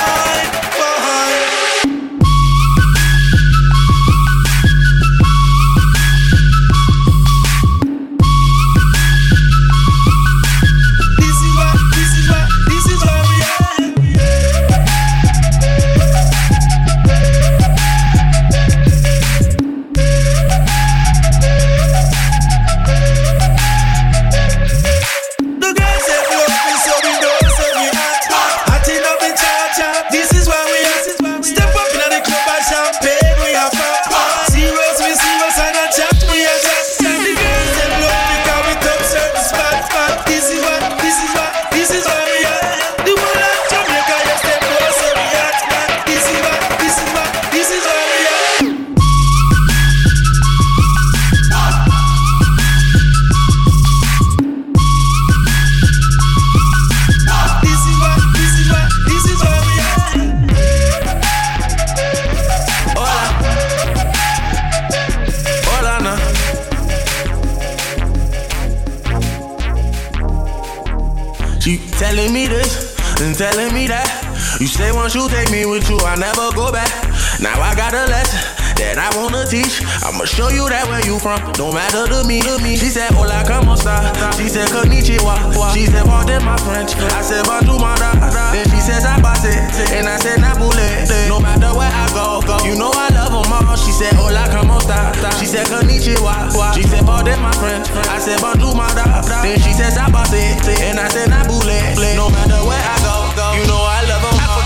telling me this and telling me that. You say once you take me with you, I never go back. Now I got a lesson that I wanna teach. I'ma show you that where you from, don't matter to me. She said, hola, como esta? She said, konnichiwa. She said, pardon my French. I said, bonjour, madame. Then she says, I pass it. And I said, Napule. No matter where I go, you know I love them all. She said, hola, como esta? She said, konnichiwa. She said, pardon my French. I said, bonjour, madame. Then she says, I pass it. And I said, Napule. No matter where I go, you know I love them all.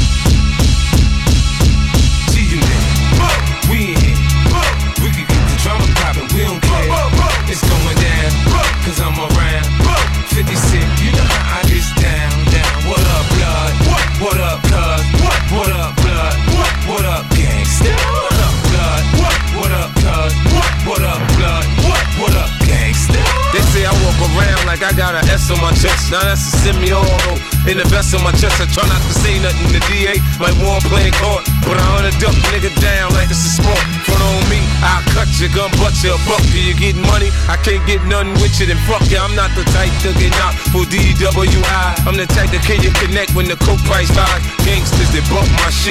We don't care, it's going down, cause I'm around 50 Cent, you know how I get down. What up, blood? What up, cuz? What up, blood? What up, gangsta? What up, blood? What up, cuz? What up, blood? What up, gangsta? They say I walk around like I got an S on my chest. Now that's a semi-auto. In the vest on my chest, I try not to say nothing to DA like one playing court. But I hunt a duck nigga down like it's a sport. Front on me, I'll cut your gun, butt your buck. Do you get money? I can't get nothing with you, then fuck ya. I'm not the type to get knocked for DWI. I'm the type that can you connect when the coke price rise. Gangsters that bump my shit, they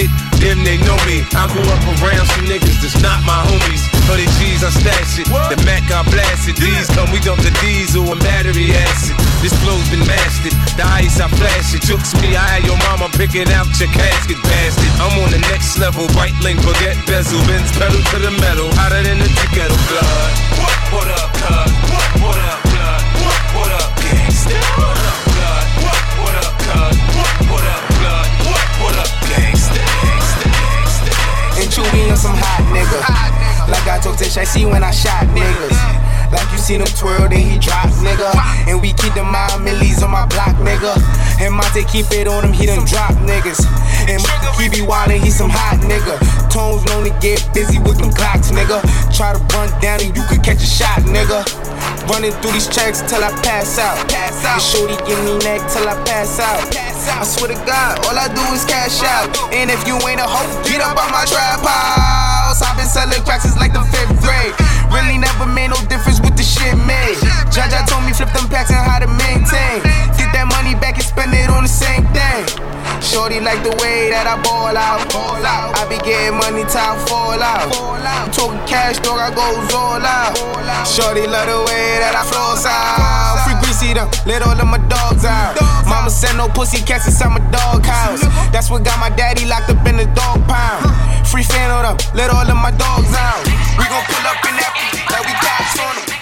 him, they know me. I grew up around some niggas that's not my homies. 100 G's, I stash it. The Mac, I blast it. These come, we dump the diesel and battery acid. This flow's been mastered. The ice, I flash it. Chooks me, I had your mama picking out your casket, bastard. I'm on the next level. Right link, forget bezel. Benz pedal to the metal. Hotter than the kettle blood. What up, cuz? What up, blood? What up, gangsta? What up, blood? What up, cuz? What up, blood? What up, gangsta? And Chewy on some hot nigga. Like I told Tish, I see when I shot niggas. Like you seen him twirl, then he drop, nigga. And we keep the mind millies on my block, nigga. And Monte keep it on him, he done drop niggas. And he be wildin', he some hot nigga. Tones known to get busy with them clocks, nigga. Try to run down and you could catch a shot, nigga. Running through these checks till I pass out. And shorty give me neck till I pass out. I swear to God, all I do is cash out. And if you ain't a hoe, get up on my trap house. I've been selling cracks since like the 5th grade. Really never made no difference with the shit made. Jaja told me flip them packs and how to maintain. Get that money back and spend it on the same thing. Shorty like the way that I ball out. I be getting money till I fall out. I'm talking cash, dog, I goes all out. Shorty love the way that I flows out. Free greasy them, let all of my dogs out. Mama said no pussy cats inside my dog house. That's what got my daddy locked up in the dog pound. Free fan of them, let all of my dogs out. We gon' pull up in that like we cops on them.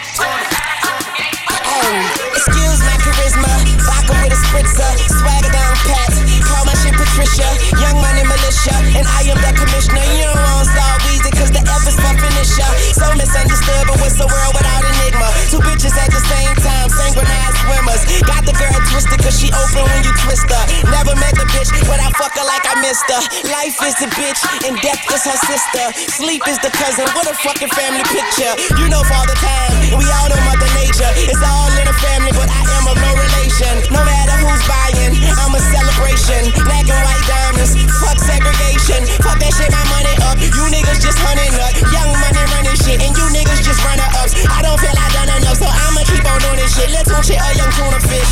Excuse my charisma, vodka with a spritzer, swagger down pats, call my shit Patricia, young money militia, and I am the commissioner. You don't want Star Weezy, cause the F is for finisher. So misunderstood, but what's the world without enigma? Two bitches at the same time, synchronized swimmers. Got the girl twisted cause she open when you twist her. Never met the bitch, but I fuck her like I missed her. Life is the bitch, and death is her sister. Sleep is the cousin, what a fucking family picture. You know Father Time, and we all know Mother Nature. It's all in a family, but I am of no relation. No matter who's buying, I'm a celebration. Black and white diamonds, fuck segregation. Fuck that shit, my money up. You niggas just hunting up. Young money running shit, and you niggas just runner ups. I don't feel I done enough, so I'ma keep on doing this shit. Let's watch it, a young tuna fish.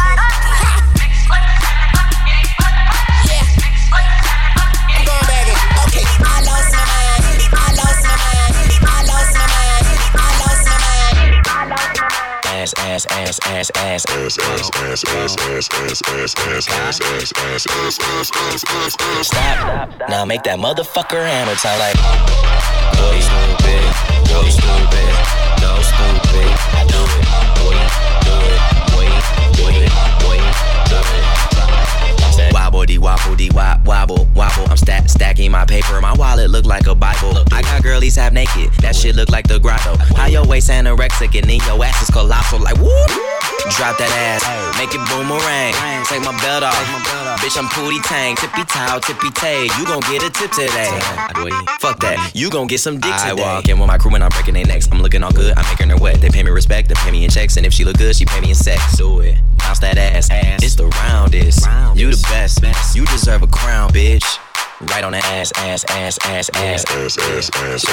Yeah, I'm going back in. Okay, I lost my mind. I lost my mind. I lost my mind. I lost my mind. I lost my mind. Ass, ass, ass, ass, ass, ass, ass, ass, ass, ass, ass, ass, ass, ass, ass. Stop. Now make that motherfucker hammer time like. Go stupid, go stupid, go stupid. I do it, boy, do it, boy, do it, boy, do it. Wobble dee wobble dee wobble wobble. I'm stacking my paper. My wallet look like a Bible. I got girlies half naked. That shit look like the grotto. How your waist anorexic and then your ass is colossal like whoop. Drop that ass, make it boomerang. Take my belt off, bitch. I'm Pootie Tang, tippy toe, tippy tay. You gon' get a tip today. Fuck that, you gon' get some dick today. I walk in with my crew and I'm breaking their necks. I'm looking all good, I'm making her wet. They pay me respect, they pay me in checks, and if she look good, she pay me in sex. Do it, bounce that ass. It's the roundest. You the best. You deserve a crown, bitch. Right on the ass, ass, ass, ass, ass, ass, ass, ass,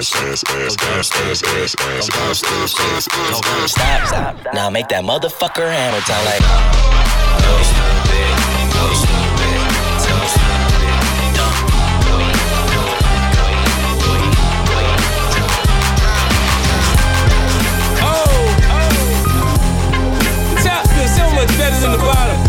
ass, stop. Now make that motherfucker hammer time like. Go stupid, go stupid, go stupid. The top feels so much better than the bottom.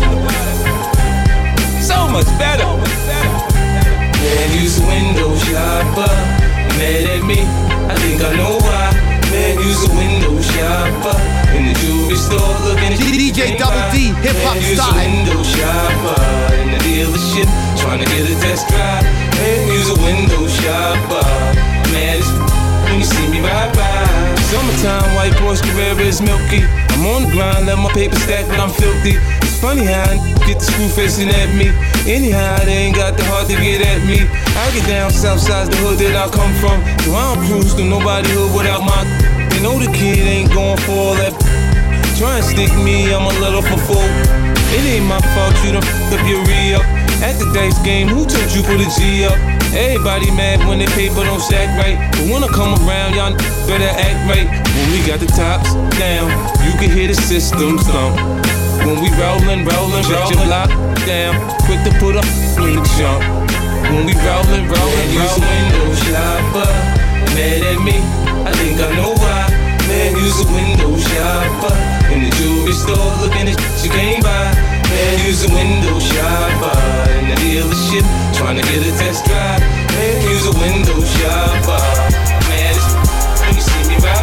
So much better. Man, you's a window shopper. Mad at me, I think I know why. Man, you's a window shopper. In the jewelry store looking at DJ Double D, hip hop style. You's a window shopper. In the dealership, trying to get a test drive. Man, you's a window shopper. Man, it's when you see me ride by. Summertime, white Porsche Carrera is milky. I'm on the grind, let my paper stack, but I'm filthy. Funny how I get the screw facing at me. Anyhow, they ain't got the heart to get at me. I get down south side's the hood that I come from. So I don't cruise to nobody hood without my. They know the kid ain't going for all that. Try and stick me, I'm a little for full. It ain't my fault you done f***ed up your re-up. At the dice game, who told you put a G up? Everybody mad when their paper don't stack right. But when I come around, y'all better act right. When we got the tops down, you can hear the system thump. When we rollin', check your block down. Quick to put up in the jump. When we rollin', window shopper. Mad at me, I think I know why. Man, use a window shopper. In the jewelry store, looking at shit you can't buy. Man, use a window shopper. In the dealership, trying to get a test drive. Man, use a window shopper. Man, it's when you see me rap.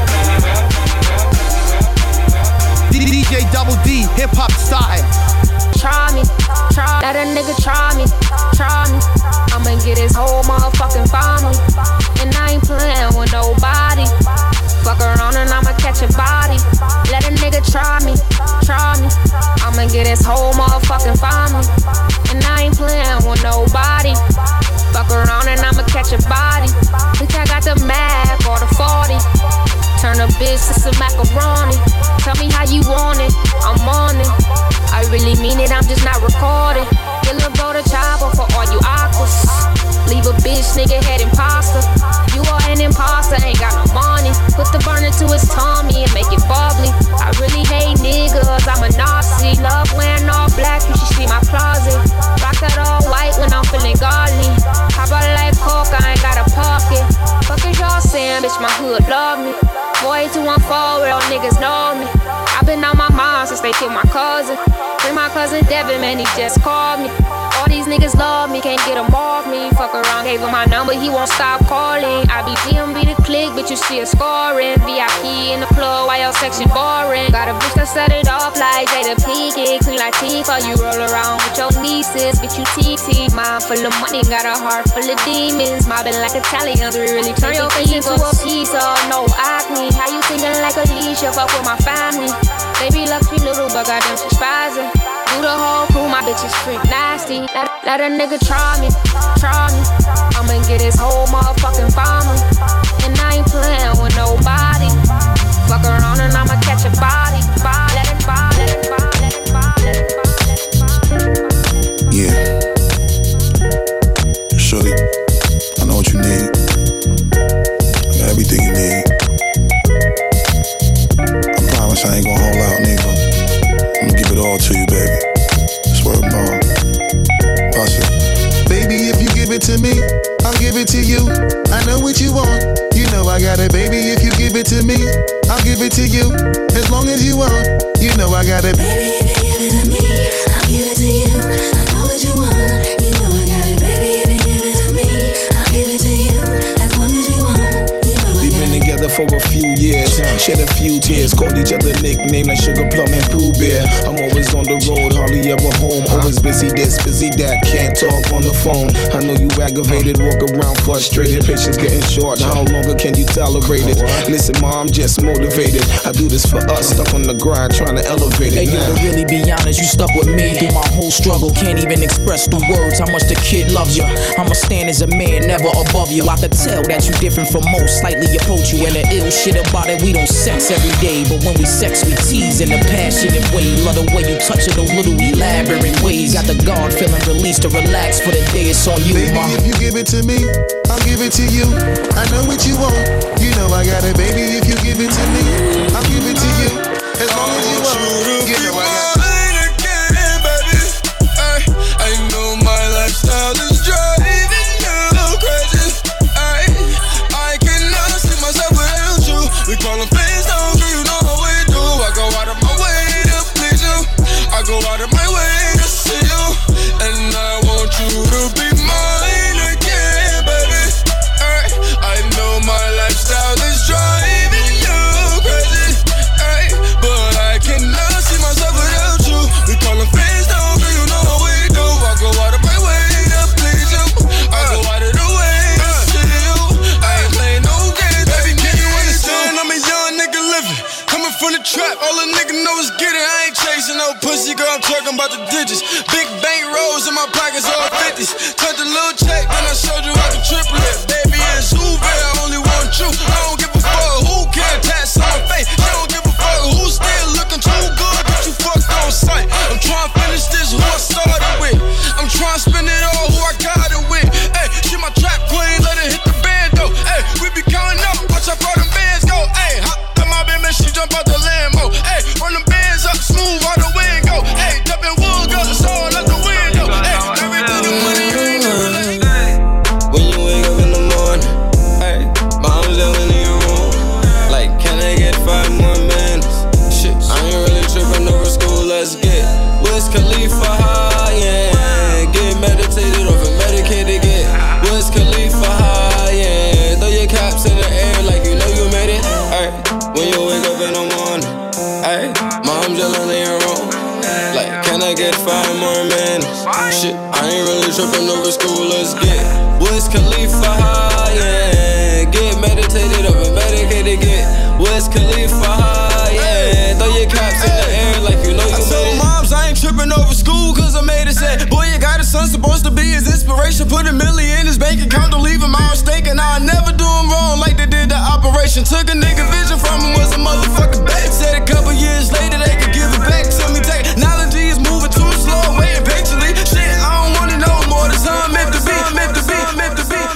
DJ Double D, hip hop style. Try me, let a nigga try me. I'ma get his whole motherfucking family. And I ain't playing with nobody. Fuck around and I'ma catch a body. Let a nigga try me. I'ma get his whole motherfucking family. And I ain't playing with nobody. Fuck around and I'ma catch a body. Bitch, I got the Mac or the 40. Turn a bitch to some macaroni. Tell me how you want it, I'm on it. I really mean it, I'm just not recording. Get a bro to chopper for all you aquas. Leave a bitch, nigga, head imposter. You are an imposter, ain't got no money. Put the burner to his tummy and make it bubbly. I really hate niggas, I'm a Nazi. Love wearing all black, you should see my closet. Rock that all white when I'm feeling godly. How about like coke, I ain't got a pocket. Fuck is y'all saying, bitch, my hood love me. 48214, real niggas know me. I've been on my mind since they killed my cousin. Bring my cousin Devin, man, he just called me. All these niggas love me, can't get him off me. Fuck around, gave him my number, he won't stop calling. I be DMB the click, bitch, you see it scoring. VIP in the club, why your section boring? Got a bitch that set it off like Jada Pinkett. Clean like Tifa, you roll around with your nieces, bitch, you TT. Mind full of money, got a heart full of demons. Mobbing like Italians, we really turn your face into a pizza. No acne, how you thinking like Alicia? Fuck with my family. Baby lucky little, but goddamn she's spazzing. Do the whole crew, my bitch is freak nasty. Let a nigga try me. I'ma get his whole motherfucking family. And I ain't playing with nobody. Fuck around and I'ma catch a body. Let it buy. Yeah. Shorty, I know what you need. I got everything you need. I promise I ain't gon' hold out, nigga. I'm gonna give it all to you, baby. Swear to God. Baby, if you give it to me, I'll give it to you. I know what you want. You know I got it, baby. If you give it to me, I'll give it to you. As long as you want, you know I got it. Baby, if you give it to me, I'll give it to you. I know what you want. You know I got it, baby. If you give it to me, I'll give it to you. As long as you want. We've been together for a few years, shed a few tears, called each other nicknames like Sugar Plum and Pooh Bear. I'm always on the road, hardly ever home. Always busy this, busy that, can't talk on the phone. I know you aggravated, walk around frustrated. Patience getting short, how longer can you tolerate it? Listen, ma, I'm just motivated. I do this for us, stuck on the grind, trying to elevate it. Hey, yo, to really be honest, you stuck with me through my whole struggle. Can't even express through words how much the kid loves you. I'ma stand as a man, never above you. I could tell that you different from most, slightly approach you. And the ill shit about it, we don't sex every day. But when we sex, we tease in a passionate way. Love the way you touch it, those little elaborate ways. Got the guard feeling released to relax for the day. It's on you, baby, ma. if you give it to me, I'll give it to you. I know what you want. You know I got it, baby. If you give it to me, I'll give it to you. As long as you want, you know I got it. I know my lifestyle is driving you crazy. I cannot see myself without you. We call them fans down, girl, you know how we do. I go out of my way to please you. I go out of my way to see you. And I want you to be mine again, baby. I know my lifestyle is driving you crazy. But I cannot see myself without you. We call them fans down, girl, you know how we do. I go out of my way to please you. I go out of the way to see you. I ain't playing no games, baby. Can you understand? I'm a young nigga living, coming from the trap. All a nigga know is get it. I ain't chasing no pussy, girl. I'm talking about the digits. Big bank rolls in my pockets, all 50s. Cut the little check, then I showed you I can triple it. Baby, it's Uber, I only want you. I don't give a fuck who can tats on my face. I don't give a fuck who's still looking too good, but you fucked on sight. I'm trying to finish this who I started with. I'm trying to spend it all who I got it with. Hey, she my trap queen, let her hit the band though. Hey, we be counting up, watch how far them bands go. Hey, hop in my bed, man, she jump out the Lambo. Hey, run them bands up, smooth all the wind go. Hey, jumping wood, go, so let the wind go. Hey, 5 more minutes. Shit, I ain't really tripping over school, let's get Wiz Khalifa